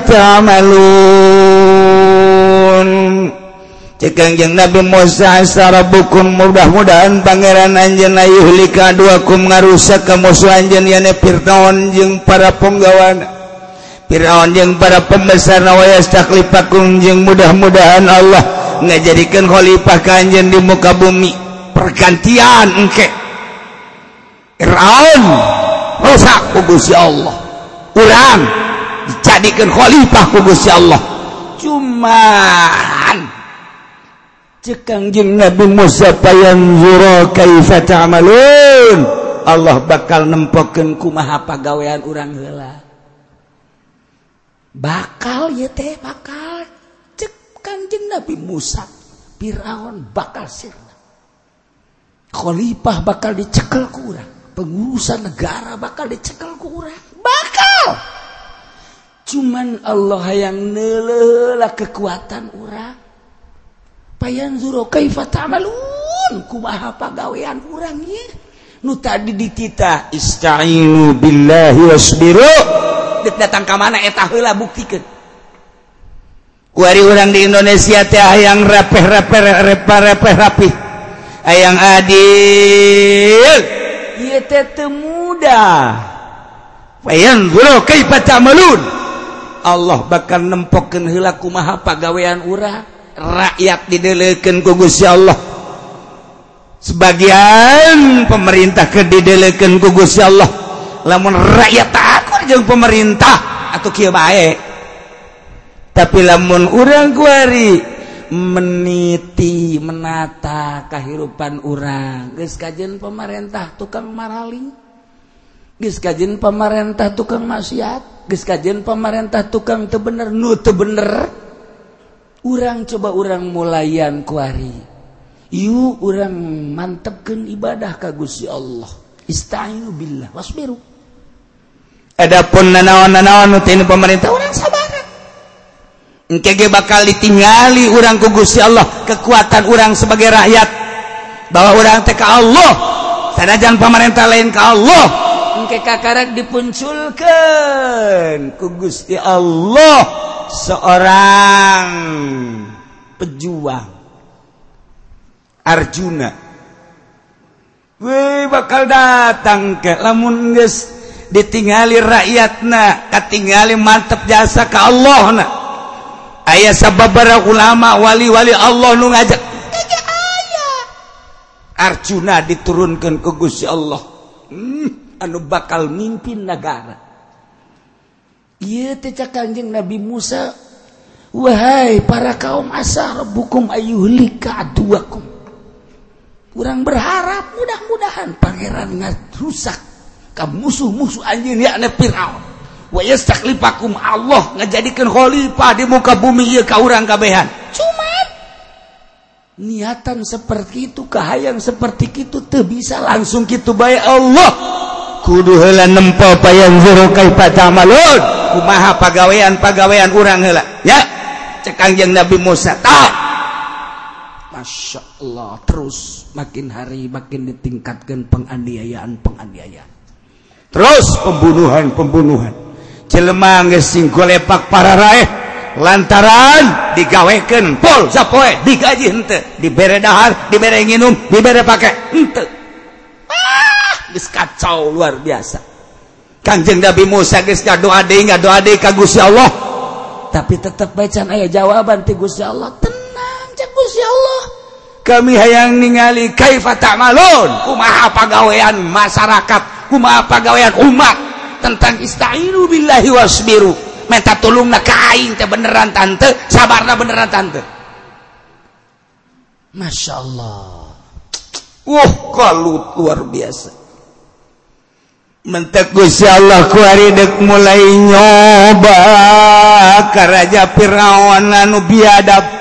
ta'malun. Cek Kangjeng Nabi Musa, asa rabbukum, mudah-mudahan pangeran anjeun ayyuhlika aduwakum ngarusak ka musuh anjeun yane Firaun jeung para penggawana. Firaun jeung para pembesar nawayas taklifakum jeung mudah-mudahan Allah ngajadikeun khalifah ka anjeun di muka bumi pergantian engke Firaun rusak ku Gusti Allah urang dijadikeun khalifah ku Gusti Allah cuman cek Kangjeng Nabi Musa payanzura kaifa ta'malun Allah bakal nempokeun kumaha pagawean urang heula bakal ya teh bakal cek Kangjeng Nabi Musa Firaun bakal sirna khalifah bakal dicekel ku urang pengurusan negara bakal dicekel ku urang bakal cuman Allah yang neuleula kekuatan urang payanzuru kaifa ta'malun kumaha pagawean urang ieu nu tadi ditita ista'inu billahi wasbiru datang ke mana eta heula buktikeun kuari urang di Indonesia teh hayang rapeh-rapeh rapeh-rapeh rapih hayang adil ieu teh teu mudah fayanzuru kaifa ta'malun Allah bakal nempokeun heula kumaha pagawean urang rakyat didelekeun ku Gusti Allah sebagian pemerintah ke didelekeun ku Gusti Allah lamun rakyat takut jeung pemerintah atuh kieu bae tapi lamun urang kuari meniti menata kahirupan urang geus kajen pemerintah tukang maraling geus kajen pemerintah tukang maksiat geus kajen pemerintah tukang teu bener nu teu bener urang coba urang mulayan kuari ieu urang mantepkeun ibadah ka Gusti Allah ista'inu billah wasbiru adapun nanaon-nanaon nu teu pemerintah urang sabaran engke ge bakal ditingali urang ku Gusti Allah kekuatan urang sebagai rakyat bahwa urang teh ka Allah sanajan pemerintah lain ka Allah engke kakarek dipunculkeun ku Gusti Allah seorang pejuang Arjuna we bakal datang ke lamun geus ditingali rakyatna katingali mantep jasa ka Allahna aya sababaraha ulama wali-wali Allah nu ngajak aya Arjuna diturunkeun ku Gusti Allah hmm, anu bakal mimpin negara ieu teh cak Kangjeng Nabi Musa wahai para kaum asa rabbukum ayyuhlika aduwakum urang berharap mudah-mudahan pangeran ngarusak ka musuh-musuh anjeun yakna Firaun wa yastakhlifakum Allah ngajadikeun khalifah di muka bumi ieu ka urang kabehan cuman niatan seperti itu kahayang seperti itu teu bisa langsung kitu bae Allah kudu heula nempo payanzuru kaifa ta'malun kumaha pagawean-pagawean urang heula ya cek Kangjeng Nabi Musa tah Masya Allah terus makin hari makin ditingkatkan penganiayaan-penganiayaan terus pembunuhan-pembunuhan jelema geus sing golepak para raeh lantaran digawekeun pol sapoe digaji henteu dibere dahar dibere nginum dibere pake henteu ah geus kacau luar biasa Kangjeng Nabi Musa geus ngadoa deui ngadoa deui ka Gusti Allah tapi tetep bae can aya jawaban ti Gusti Allah tenang cek Gusti Allah kami hayang ningali kaifa ta'malun kumaha pagawean masyarakat kumaha pagawean umat tentang ista'inu billahi wasbiru minta tulungna ka aing teh beneran tante sabarna beneran tante Masya Allah wah kalut luar biasa mentek Gusti Allah kuari dek mulai nyoba ka Raja Firaun anu biadab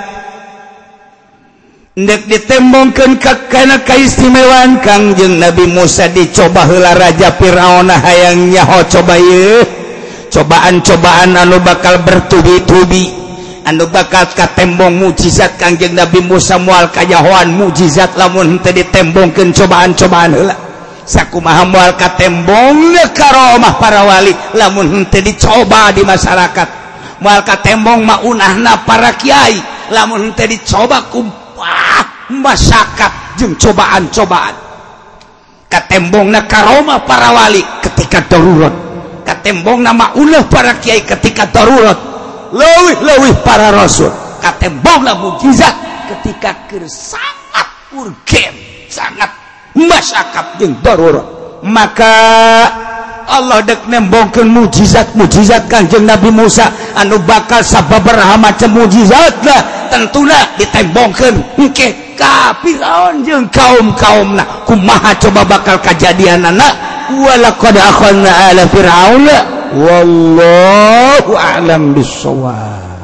ndek ditembongkeun ka kana kaistimewaan Kangjeng Nabi Musa dicoba heula Raja Firaun hayang nyaho coba ieu cobaan-cobaan anu bakal bertubi-tubi anu bakal katembong mukjizat Kangjeng Nabi Musa moal kajahoan mukjizat lamun teu ditembongkeun cobaan-cobaan heula sakumaha moal katembongna karomah para wali lamun teu dicoba di masyarakat moal katembong maunahna para kiai lamun teu dicoba ku wah, masyarakat jeung cobaan-cobaan katembongna karomah para wali ketika darurat katembong nama ulah para kiai ketika darurat leuwih-leuwih para rasul katembong mukjizat ketika keur sangat urgen sangat masyarakat jeung darurat maka Allah dek nembongkeun mukjizat-mukjizat Kanjeng Nabi Musa anu bakal sababaraha macam mukjizat lah tentuna ditembongkeun engke ka Firaun jeung kaum-kaumna kumaha coba bakal kajadianana walaqad akhadna ala fir'auna wallahu a'lam bissawab.